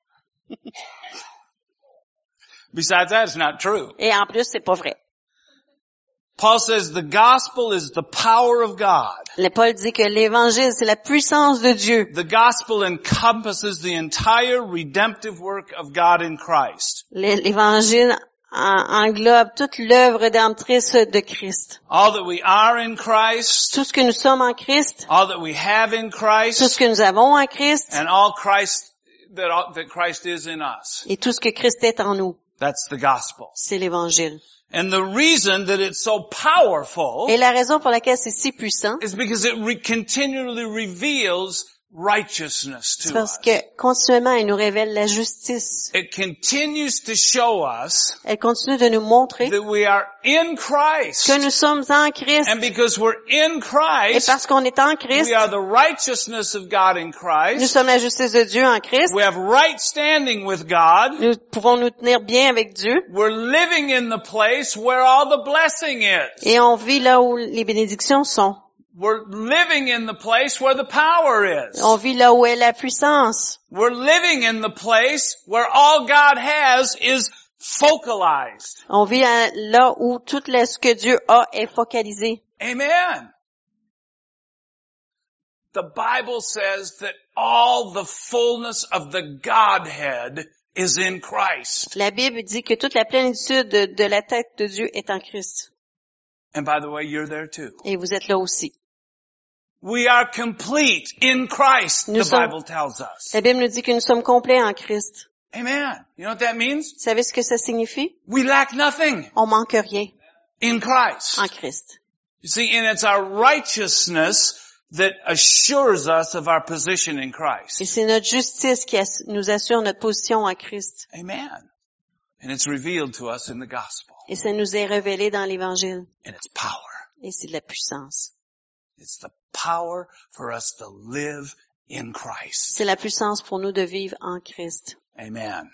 Besides that, it's not true. Et en plus, c'est pas vrai. Paul says the gospel is the power of God. Le Paul dit que l'évangile, c'est la puissance de Dieu. The gospel encompasses the entire redemptive work of God in Christ. L'évangile en- englobe toute l'œuvre rédemptrice de Christ. All that we are in Christ, Tout ce que nous sommes en Christ, all that we have in tout ce Christ, que nous avons en Christ, and all Christ that, all, that Christ is in us. et tout ce que Christ est en nous. That's the gospel. C'est l'évangile. And the reason that it's so powerful Et la raison pour laquelle c'est si puissant, is because it re- continually reveals righteousness c'est to parce us. que continuellement, il nous révèle la justice. It continues to show us Elle continue de nous montrer that we are in Christ. que nous sommes en Christ. And because we're in Et Christ, parce qu'on est en Christ, we are the righteousness of God in nous Christ. sommes la justice de Dieu en Christ. We have right standing with God. Nous pouvons nous tenir bien avec Dieu. We're living in the place where all the blessing is. Et on vit là où les bénédictions sont. We're living in the place where the power is. On vit là où est la puissance. We're living in the place where all God has is focalized. On vit à- là où tout le- ce que Dieu a est focalisé. Amen. The Bible says that all the fullness of the Godhead is in Christ. La Bible dit que toute la plénitude de, de la tête de Dieu est en Christ. And by the way, you're there too. Et vous êtes là aussi. We are complete in Christ, Nous the sommes- Bible tells us. La Bible nous dit que nous sommes complets en Christ. Amen. You know what that means? Vous savez ce que ça signifie? We lack nothing On manque rien in Christ. en Christ. You see, and it's our righteousness that assures us of our position in Christ. Et c'est notre justice qui ass- nous assure notre position en Christ. Amen. And it's revealed to us in the gospel. Et ça nous est révélé dans l'Évangile. And it's power. Et c'est de la puissance. It's the power for us to live in Christ. C'est la puissance pour nous de vivre en Christ. Amen.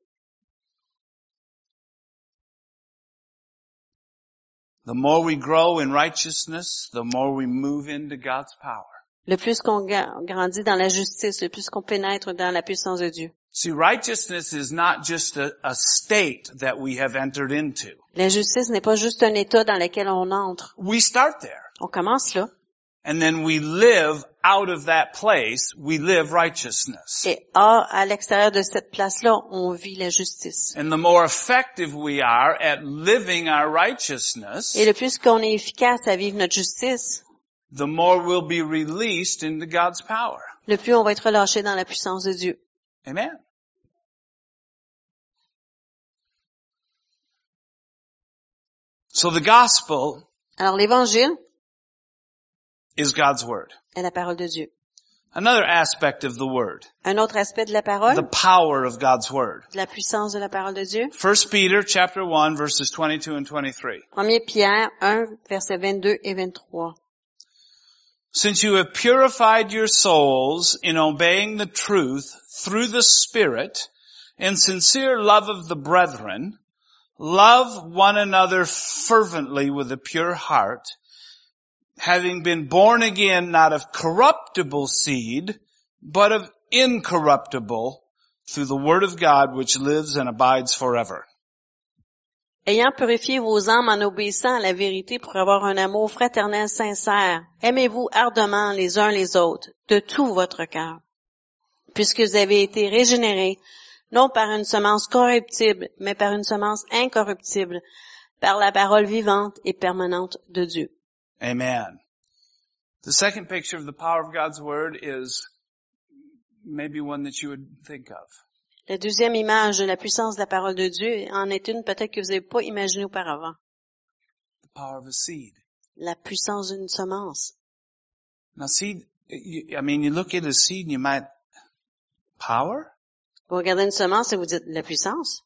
The more we grow in righteousness, the more we move into God's power. Le plus qu'on ga- grandit dans la justice, le plus qu'on pénètre dans la puissance de Dieu. See, righteousness is not just a, a state that we have entered into. La justice n'est pas juste un état dans lequel on entre. We start there. On commence là. And then we live out of that place, we live righteousness. Et à, à l'extérieur de cette place-là, on vit la justice. And the more effective we are at living our righteousness, Et le plus qu'on est efficace à vivre notre justice, the more we'll be released into God's power. le plus on va être relâché dans la puissance de Dieu. Amen. So the gospel Alors l'évangile is God's word. est la parole de Dieu. Another aspect of the word, Un autre aspect de la the parole, power of God's word. de la puissance de la parole de Dieu. First Peter chapter one verses twenty-two and twenty-three. Premier Pierre un, versets vingt-deux et vingt-trois. Since you have purified your souls in obeying the truth through the Spirit, In sincere love of the brethren, love one another fervently with a pure heart, having been born again not of corruptible seed, but of incorruptible, through the word of God which lives and abides forever. Ayant purifié vos âmes en obéissant à la vérité pour avoir un amour fraternel sincère, aimez-vous ardemment les uns les autres, de tout votre cœur, puisque vous avez été régénérés, non par une semence corruptible, mais par une semence incorruptible, par la parole vivante et permanente de Dieu. Amen. The second picture of the power of God's word is maybe one that you would think of. La deuxième image de la puissance de la parole de Dieu en est une peut-être que vous n'avez pas imaginée auparavant. The power of a seed. La puissance d'une semence. Now seed, you, I mean, you look at a seed and you might, power? Vous regardez une semence et vous dites la puissance.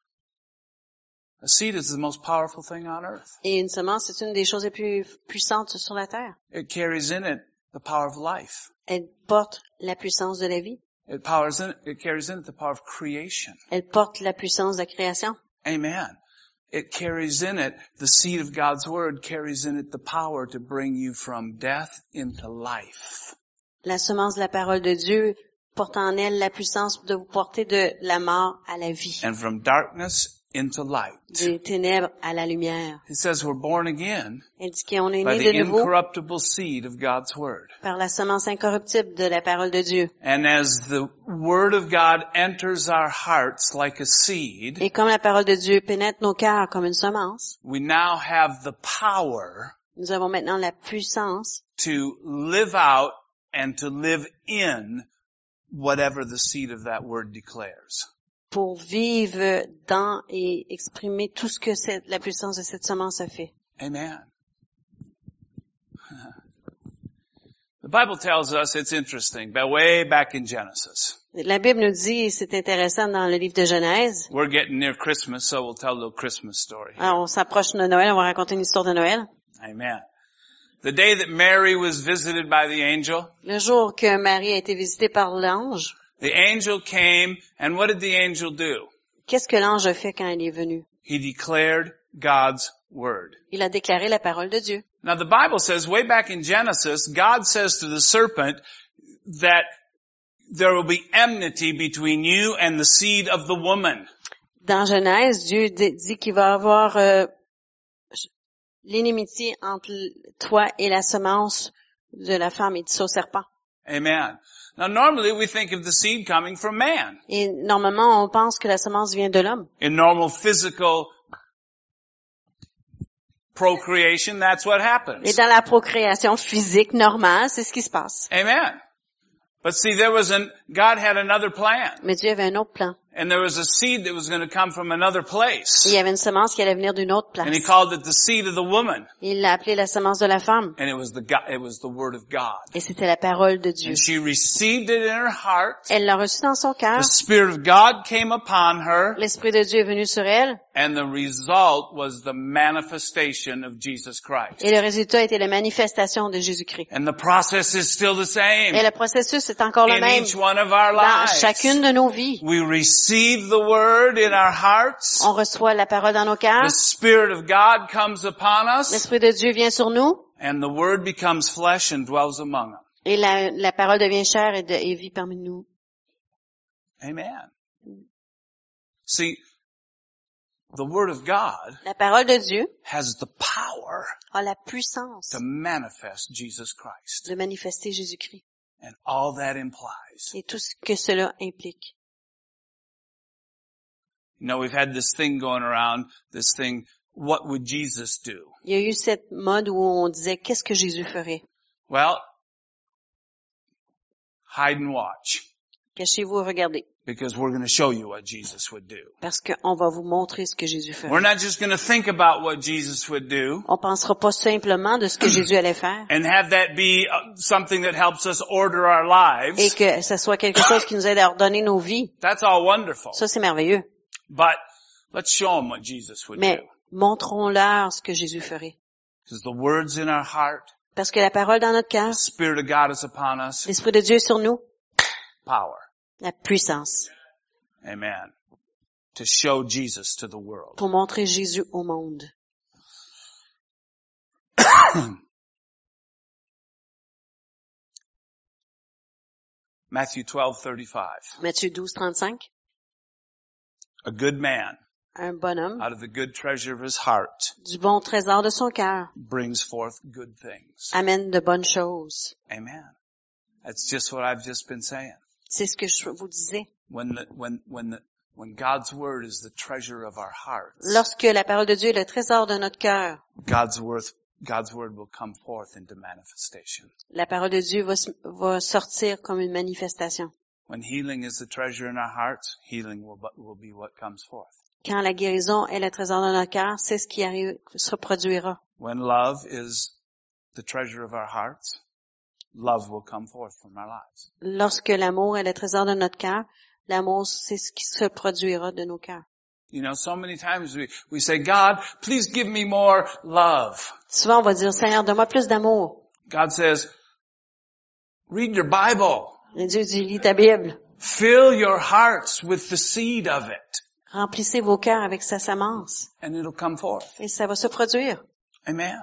A seed is the most powerful thing on earth. Et une semence, c'est une des choses les plus puissantes sur la terre. It carries in it the power of life. Elle porte la puissance de la vie. It powers in it, it carries in it the power of creation. Elle porte la puissance de la création. Amen. It carries in it, the seed of God's word carries in it the power to bring you from death into life. La semence de la parole de Dieu porte en elle la puissance de vous porter de la mort à la vie. And from darkness into light. Des ténèbres à la lumière. It says we're born again Elle dit qu'on est by né the de nouveau incorruptible seed of God's word. par la semence incorruptible de la parole de Dieu. And as the word of God enters our hearts like a seed, Et comme la parole de Dieu pénètre nos cœurs comme une semence, we now have the power nous avons maintenant la puissance to live out and to live in whatever the seed of that word declares. pour vivre dans et exprimer tout ce que cette, la puissance de cette semence a fait. Amen. The Bible tells us, it's interesting, but way back in Genesis. La Bible nous dit, c'est intéressant dans le livre de Genèse. We're getting near Christmas, so we'll tell a little Christmas story. Alors, on s'approche de Noël, on va raconter une histoire de Noël. Amen. The day that Mary was visited by the angel, Le jour que Marie a été visitée par l'ange, the angel came, and what did the angel do? qu'est-ce que l'ange a fait quand il est venu? He declared God's word. Il a déclaré la parole de Dieu. Now the Bible says, way back in Genesis, God says to the serpent that there will be enmity between you and the seed of the woman. Dans Genèse, Dieu dit qu'il va y avoir euh, l'inimitié entre toi et la semence de la femme et du saut serpent. Amen. Now normally we think of the seed coming from man. Et normalement, on pense que la semence vient de l'homme. In normal physical procreation, that's what happens. Et dans la procréation physique normale, c'est ce qui se passe. Amen. But see, there was an, God had another plan. Mais Dieu avait un autre plan. And there was a seed that was going to come from another place. Et il y avait une semence qui allait venir d'une autre place. And he called it the seed of the woman. Il l'a appelée la semence de la femme. And it was the God, it was the word of God. Et c'était la parole de Dieu. And she received it in her heart. Elle l'a reçu dans son cœur. The Spirit of God came upon her. L'Esprit de Dieu est venu sur elle. And the result was the manifestation of Jesus Christ. Et le résultat était la manifestation de Jésus-Christ. And the process is still the same. Et le processus est encore le In même each one of our dans lives. chacune de nos vies. We receive the word in our hearts. On reçoit la parole dans nos cœurs. The Spirit of God comes upon us. L'Esprit de Dieu vient sur nous. And the word becomes flesh and dwells among us. Et la, la parole devient chair et, de, et vit parmi nous. Amen. See, the word of God La parole de Dieu has the power a la puissance to manifest Jesus Christ. de manifester Jésus-Christ. And all that implies. Et tout ce que cela implique. You know, we've had this thing going around, this thing, what would Jesus do? Il y a eu cette mode où on disait, qu'est-ce que Jésus ferait? Well, hide and watch. Cachez-vous et regardez. Because we're going to show you what Jesus would do. Parce qu'on va vous montrer ce que Jésus ferait. We're not just going to think about what Jesus would do. On pensera pas simplement de ce que Jésus allait faire. And have that be something that helps us order our lives. Et que ce soit quelque chose qui nous aide à ordonner nos vies. That's all wonderful. Ça, c'est merveilleux. But let's show them what Jesus would Mais do. montrons-leur ce que Jésus ferait. Because the word's in our heart. Parce que la parole dans notre cœur, The Spirit of God is upon us. l'Esprit de Dieu est sur nous, Power. la puissance. Amen. To show Jesus to the world. Pour montrer Jésus au monde. Matthew twelve thirty-five. Matthieu douze, trente-cinq. A good man, Un bonhomme, out of the good treasure of his heart, du bon trésor de son cœur, brings forth good things. amène de bonnes choses. Amen. That's just what I've just been saying. C'est ce que je vous disais. When the, when, when the, when God's word is the treasure of our hearts, Lorsque la parole de Dieu est le trésor de notre cœur, God's word, God's word will come forth into manifestation. la parole de Dieu va, va sortir comme une manifestation. When healing is the treasure in our hearts, healing will, will be what comes forth. Quand la guérison est le trésor de notre cœur, c'est ce qui arrive, se produira. When love is the treasure of our hearts, love will come forth from our lives. Lorsque l'amour est le trésor de notre cœur, l'amour, c'est ce qui se produira de nos cœurs. You know, so many times we, we say, God, please give me more love. Souvent, on va dire, Seigneur, donne-moi plus d'amour. God says, read your Bible. Et Dieu dit, lis ta Bible. Fill your hearts with the seed of it. Remplissez vos cœurs avec sa semence. And it'll come forth. Et ça va se produire. Amen.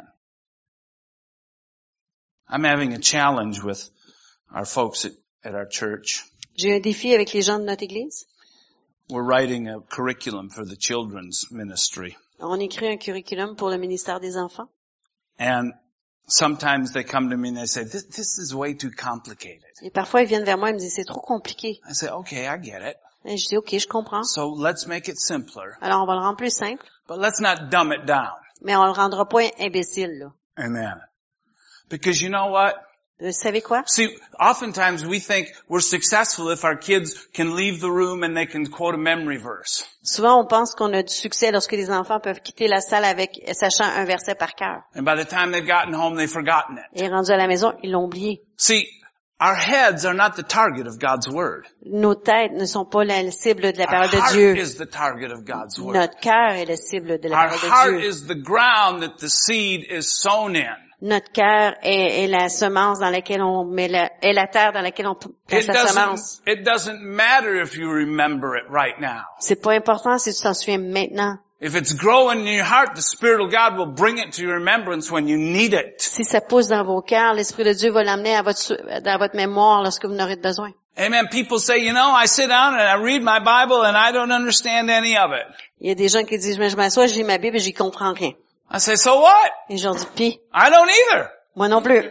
I'm having a challenge with our folks at, at our church. J'ai un défi avec les gens de notre église. We're writing a curriculum for the children's ministry. On écrit un curriculum pour le ministère des enfants. And sometimes they come to me and they say, this, this is way too complicated. Et parfois, ils viennent vers moi et me disent, c'est trop compliqué. I say, okay, I get it. Et je dis, OK, je comprends. So let's make it simpler, Alors, on va le rendre plus simple, but let's not dumb it down. mais on le rendra pas imbécile, là. Amen. Because you know what? Vous savez quoi? See, oftentimes we think we're successful if our kids can leave the room and they can quote a memory verse. Souvent, on pense qu'on a du succès lorsque les enfants peuvent quitter la salle avec, sachant un verset par cœur. And by the time they've gotten home, they've forgotten it. Et rendus à la maison, ils l'ont oublié. See, our heads are not the target of God's word. Nos têtes ne sont pas la cible de la Our parole de heart Dieu. is the target of God's word. Notre cœur est la cible de la Our parole heart de Dieu. is the ground that the seed is sown in. Notre cœur est, est la semence dans laquelle on met la, est la terre dans laquelle on place It la doesn't, semence. it doesn't matter if you remember it right now. C'est pas important si tu t'en souviens maintenant. If it's growing in your heart, the Spirit of God will bring it to your remembrance when you need it. Si ça pousse dans vos cœurs, l'Esprit de Dieu va l'amener à votre, dans votre mémoire lorsque vous en aurez besoin. Amen. People say, you know, I sit down and I read my Bible and I don't understand any of it. Il y a des gens qui disent, mais je m'assois, je lis ma Bible et j'y comprends rien. I say, so what? Et je leur dis, pis, I don't either. moi non plus.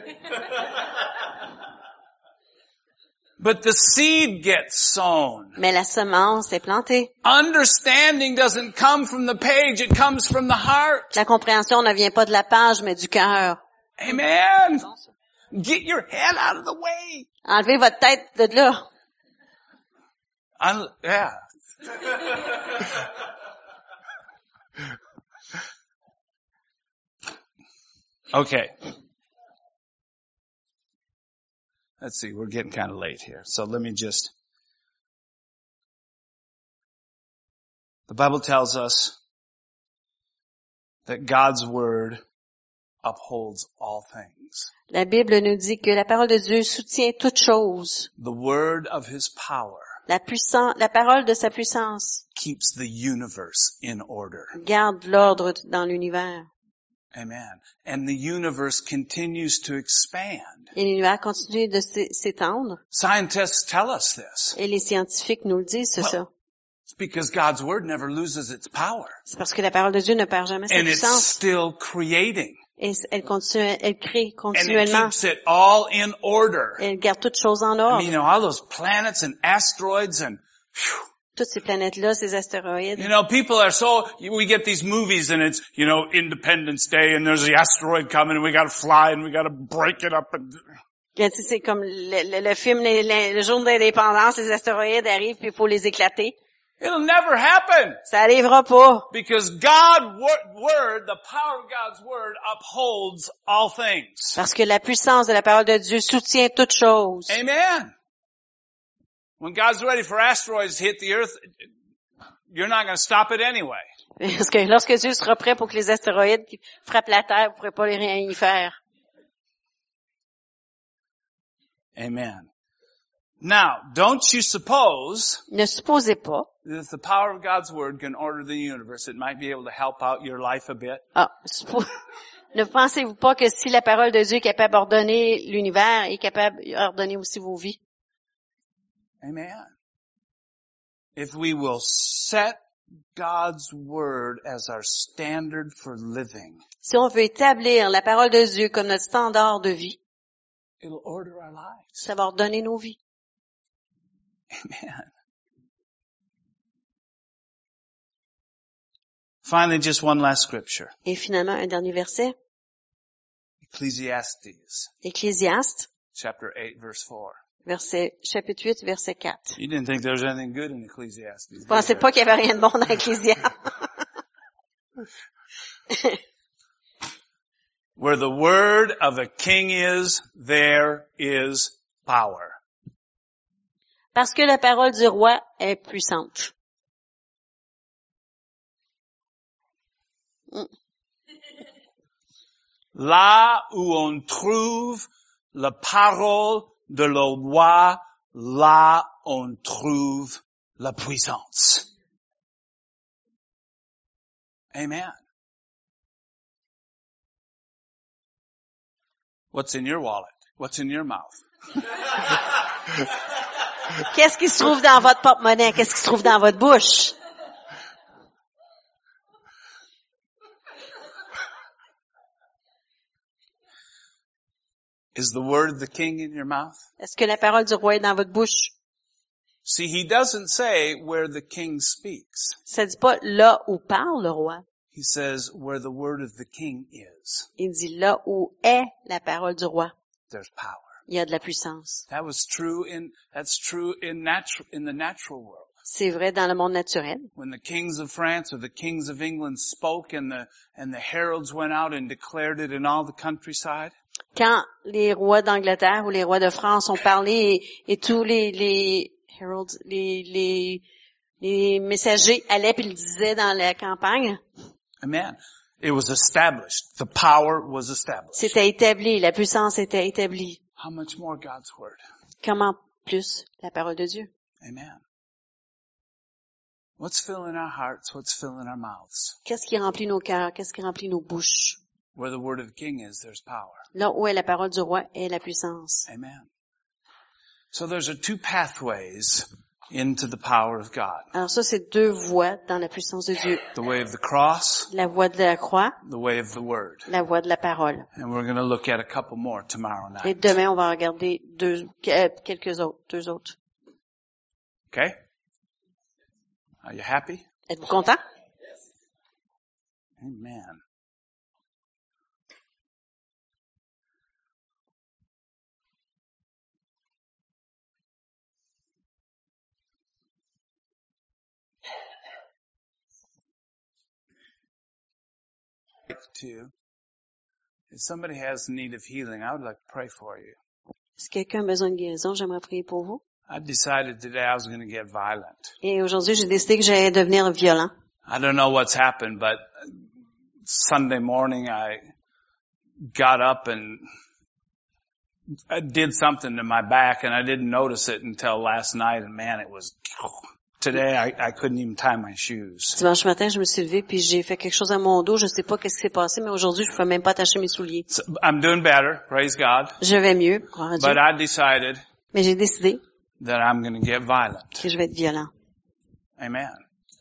But the seed gets sown. Mais la semence est plantée. Understanding doesn't come from the page, it comes from the heart. La compréhension ne vient pas de la page, mais du cœur. Amen. Get your head out of the way. Enlevez votre tête de là. Un- yeah. Okay. Let's see, we're getting kind of late here. So let me just, the Bible tells us that God's word upholds all things. La Bible nous dit que la parole de Dieu soutient toute chose. The word of his power La puissance, la parole de sa puissance keeps the universe in order. garde l'ordre dans l'univers. Amen. And the universe continues to expand. Et l'univers continue de s'é- s'étendre. Scientists tell us this. Et les scientifiques nous le disent, c'est ça. It's because God's word never loses its power. C'est parce que la parole de Dieu ne perd jamais sa And it's puissance. still creating. Et elle continue, elle crée And it continuellement. keeps it all in order. Elle garde toutes choses en I ordre. mean, you know, all those planets and asteroids and, phew. Toutes ces planètes-là, ces astéroïdes. You know, people are so, we get these movies and it's, you know, Independence Day and there's the asteroid coming and we gotta fly and we gotta break it up and, Tu sais, c'est comme le, le, le film, les- les- le jour de l'indépendance, les astéroïdes arrivent puis il faut les éclater. it'll never happen. Ça arrivera pas. Because God wor- word, the power of God's word upholds all things. Parce que la puissance de la parole de Dieu soutient toutes choses. Amen. When God's ready for asteroids to hit the earth, you're not going to stop it anyway. Parce que lorsque Dieu sera prêt pour que les astéroïdes qui frappent la Terre, vous ne pourrez pas les rien y faire. Amen. Now, don't you suppose Ne supposez pas, that if the power of God's Word can order the universe, it might be able to help out your life a bit? ah, suppo- ne pensez-vous pas que si la parole de Dieu est capable d'ordonner l'univers, est capable d'ordonner aussi vos vies? Amen. If we will set God's Word as our standard for living, Si on veut établir la parole de Dieu comme notre standard de vie, it'll order our lives. ça va ordonner nos vies. Amen. Finally, just one last scripture. Et finalement, un dernier verset, Ecclesiastes, Ecclésiaste, chapter eight, verse four. verset, chapitre huit, verset quatre. You didn't think there was anything good in Ecclesiastes. Vous pensez pas qu'il y avait rien de bon dans Ecclésiaste? Where the word of a king is, there is power. Parce que la parole du roi est puissante. Mm. Là où on trouve la parole de le roi, là on trouve la puissance. Amen. What's in your wallet? What's in your mouth? Qu'est-ce qui se trouve dans votre porte-monnaie? Qu'est-ce qui se trouve dans votre bouche? Is the word of the king in your mouth? Est-ce que la parole du roi est dans votre bouche? See, he doesn't say where the king speaks. Ça dit pas là où parle le roi. He says where the word of the king is, Il dit là où est la parole du roi. there's power. Il y a de la puissance. That was true in, that's true in natural, in the natural world. C'est vrai dans le monde naturel. When the kings of France or the kings of England spoke and the, and the heralds went out and declared it in all the countryside, Quand les rois d'Angleterre ou les rois de France ont parlé et, et tous les, les heralds, les, les, les messagers allaient puis le disaient dans la campagne, amen, it was established. The power was established. c'était établi, la puissance était établie. How much more God's word? Comment plus la parole de Dieu? Amen. What's filling our hearts? What's filling our mouths? Qu'est-ce qui remplit nos cœurs? Qu'est-ce qui remplit nos bouches? Where the word of the king is, there's power. Là où est la parole du roi est la puissance. Amen. So there's a two pathways into the power of God. Alors ça, c'est deux voies dans la puissance de Dieu. The way of the cross, La voie de la croix, the way of the word. la voie de la parole. And we're going to look at a couple more tomorrow Et night. demain, on va regarder deux, quelques autres, deux autres. Okay? Are you happy? Êtes-vous content? Amen. To, if somebody has need of healing, I would like to pray for you. Si quelqu'un a besoin de guérison, j'aimerais prier pour vous. I decided today I was going to get violent. Et aujourd'hui, j'ai décidé que j'allais devenir violent. I don't know what's happened, but Sunday morning I got up and I did something to my back and I didn't notice it until last night, and man, it was, today I, I couldn't even tie my shoes. Dimanche matin, je me suis levée puis j'ai fait quelque chose à mon dos. Je sais pas qu'est-ce qui s'est passé, mais aujourd'hui, je ne pouvais même pas attacher mes souliers. So I'm doing better, praise God. Je vais mieux, gloire à Dieu. But I decided Mais j'ai décidé that I'm going to get violent. que je vais être violent. Amen.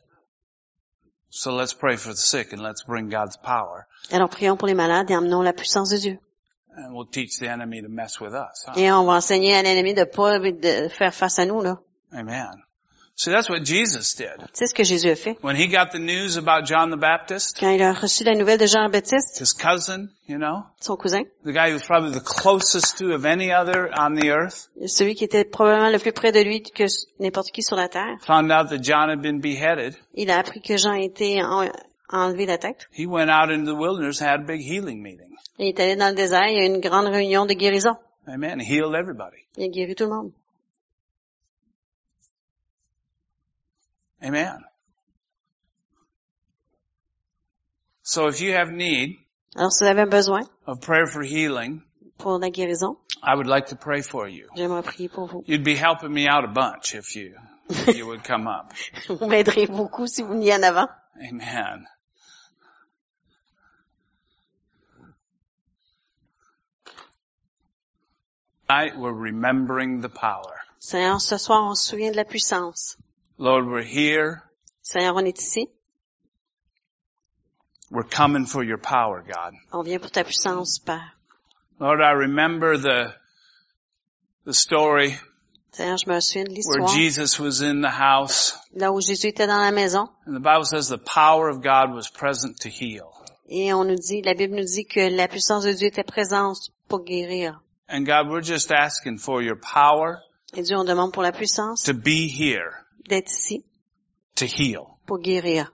So let's pray for the sick and let's bring God's power. Alors prions pour les malades et emmenons la puissance de Dieu. And we'll teach the enemy to mess with us. Huh? Et on va enseigner à l'ennemi de pas de faire face à nous, là. Amen. See, that's what Jesus did. Tu sais ce que Jésus a fait? When he got the news about John the Baptist, Quand il a reçu la nouvelle de Jean le Baptiste, his cousin, you know, son cousin, the guy he was probably the closest to of any other on the earth, celui qui était probablement le plus près de lui que n'importe qui sur la terre, found out that John had been beheaded. il a appris que Jean a été en, enlevé la tête. He went out into the wilderness and had a big healing meeting. Il est allé dans le désert, il y a eu une grande réunion de guérison. Amen. He healed everybody. Il a guéri tout le monde. Amen. So if you have need Alors si vous avez besoin of prayer for healing, pour la guérison. I would like to pray for you. J'aimerais prier pour vous. You'd be helping me out a bunch if you, if you would come up. Vous m'aiderez beaucoup si vous veniez en avant. Amen. Tonight we're remembering the power. Seigneur, ce soir, on se souvient de la puissance. Lord, we're here. Seigneur, on est ici. We're coming for your power, God. On vient pour ta puissance, Père. Lord, I remember the, the story Seigneur, je me souviens de where l'histoire. Jesus was in the house. Là où Jésus était dans la maison. And the Bible says the power of God was present to heal. Et on nous dit, la Bible nous dit que la puissance de Dieu était présente pour guérir. And God, we're just asking for your power Et Dieu, on demande pour la puissance to be here, d'être ici to heal. pour guérir.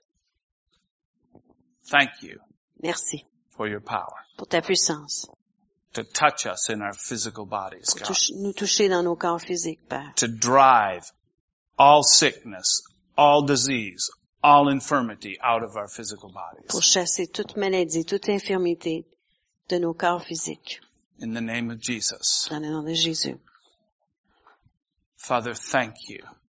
Thank you Merci for your power pour ta puissance. to touch us in our physical bodies, Pour God. touche- nous toucher dans nos corps physiques, Père. To drive all sickness, all disease, all infirmity out of our physical bodies. Pour chasser toute maladie, toute infirmité de nos corps physiques. In the name of Jesus. Dans le nom de Jésus. Father, thank you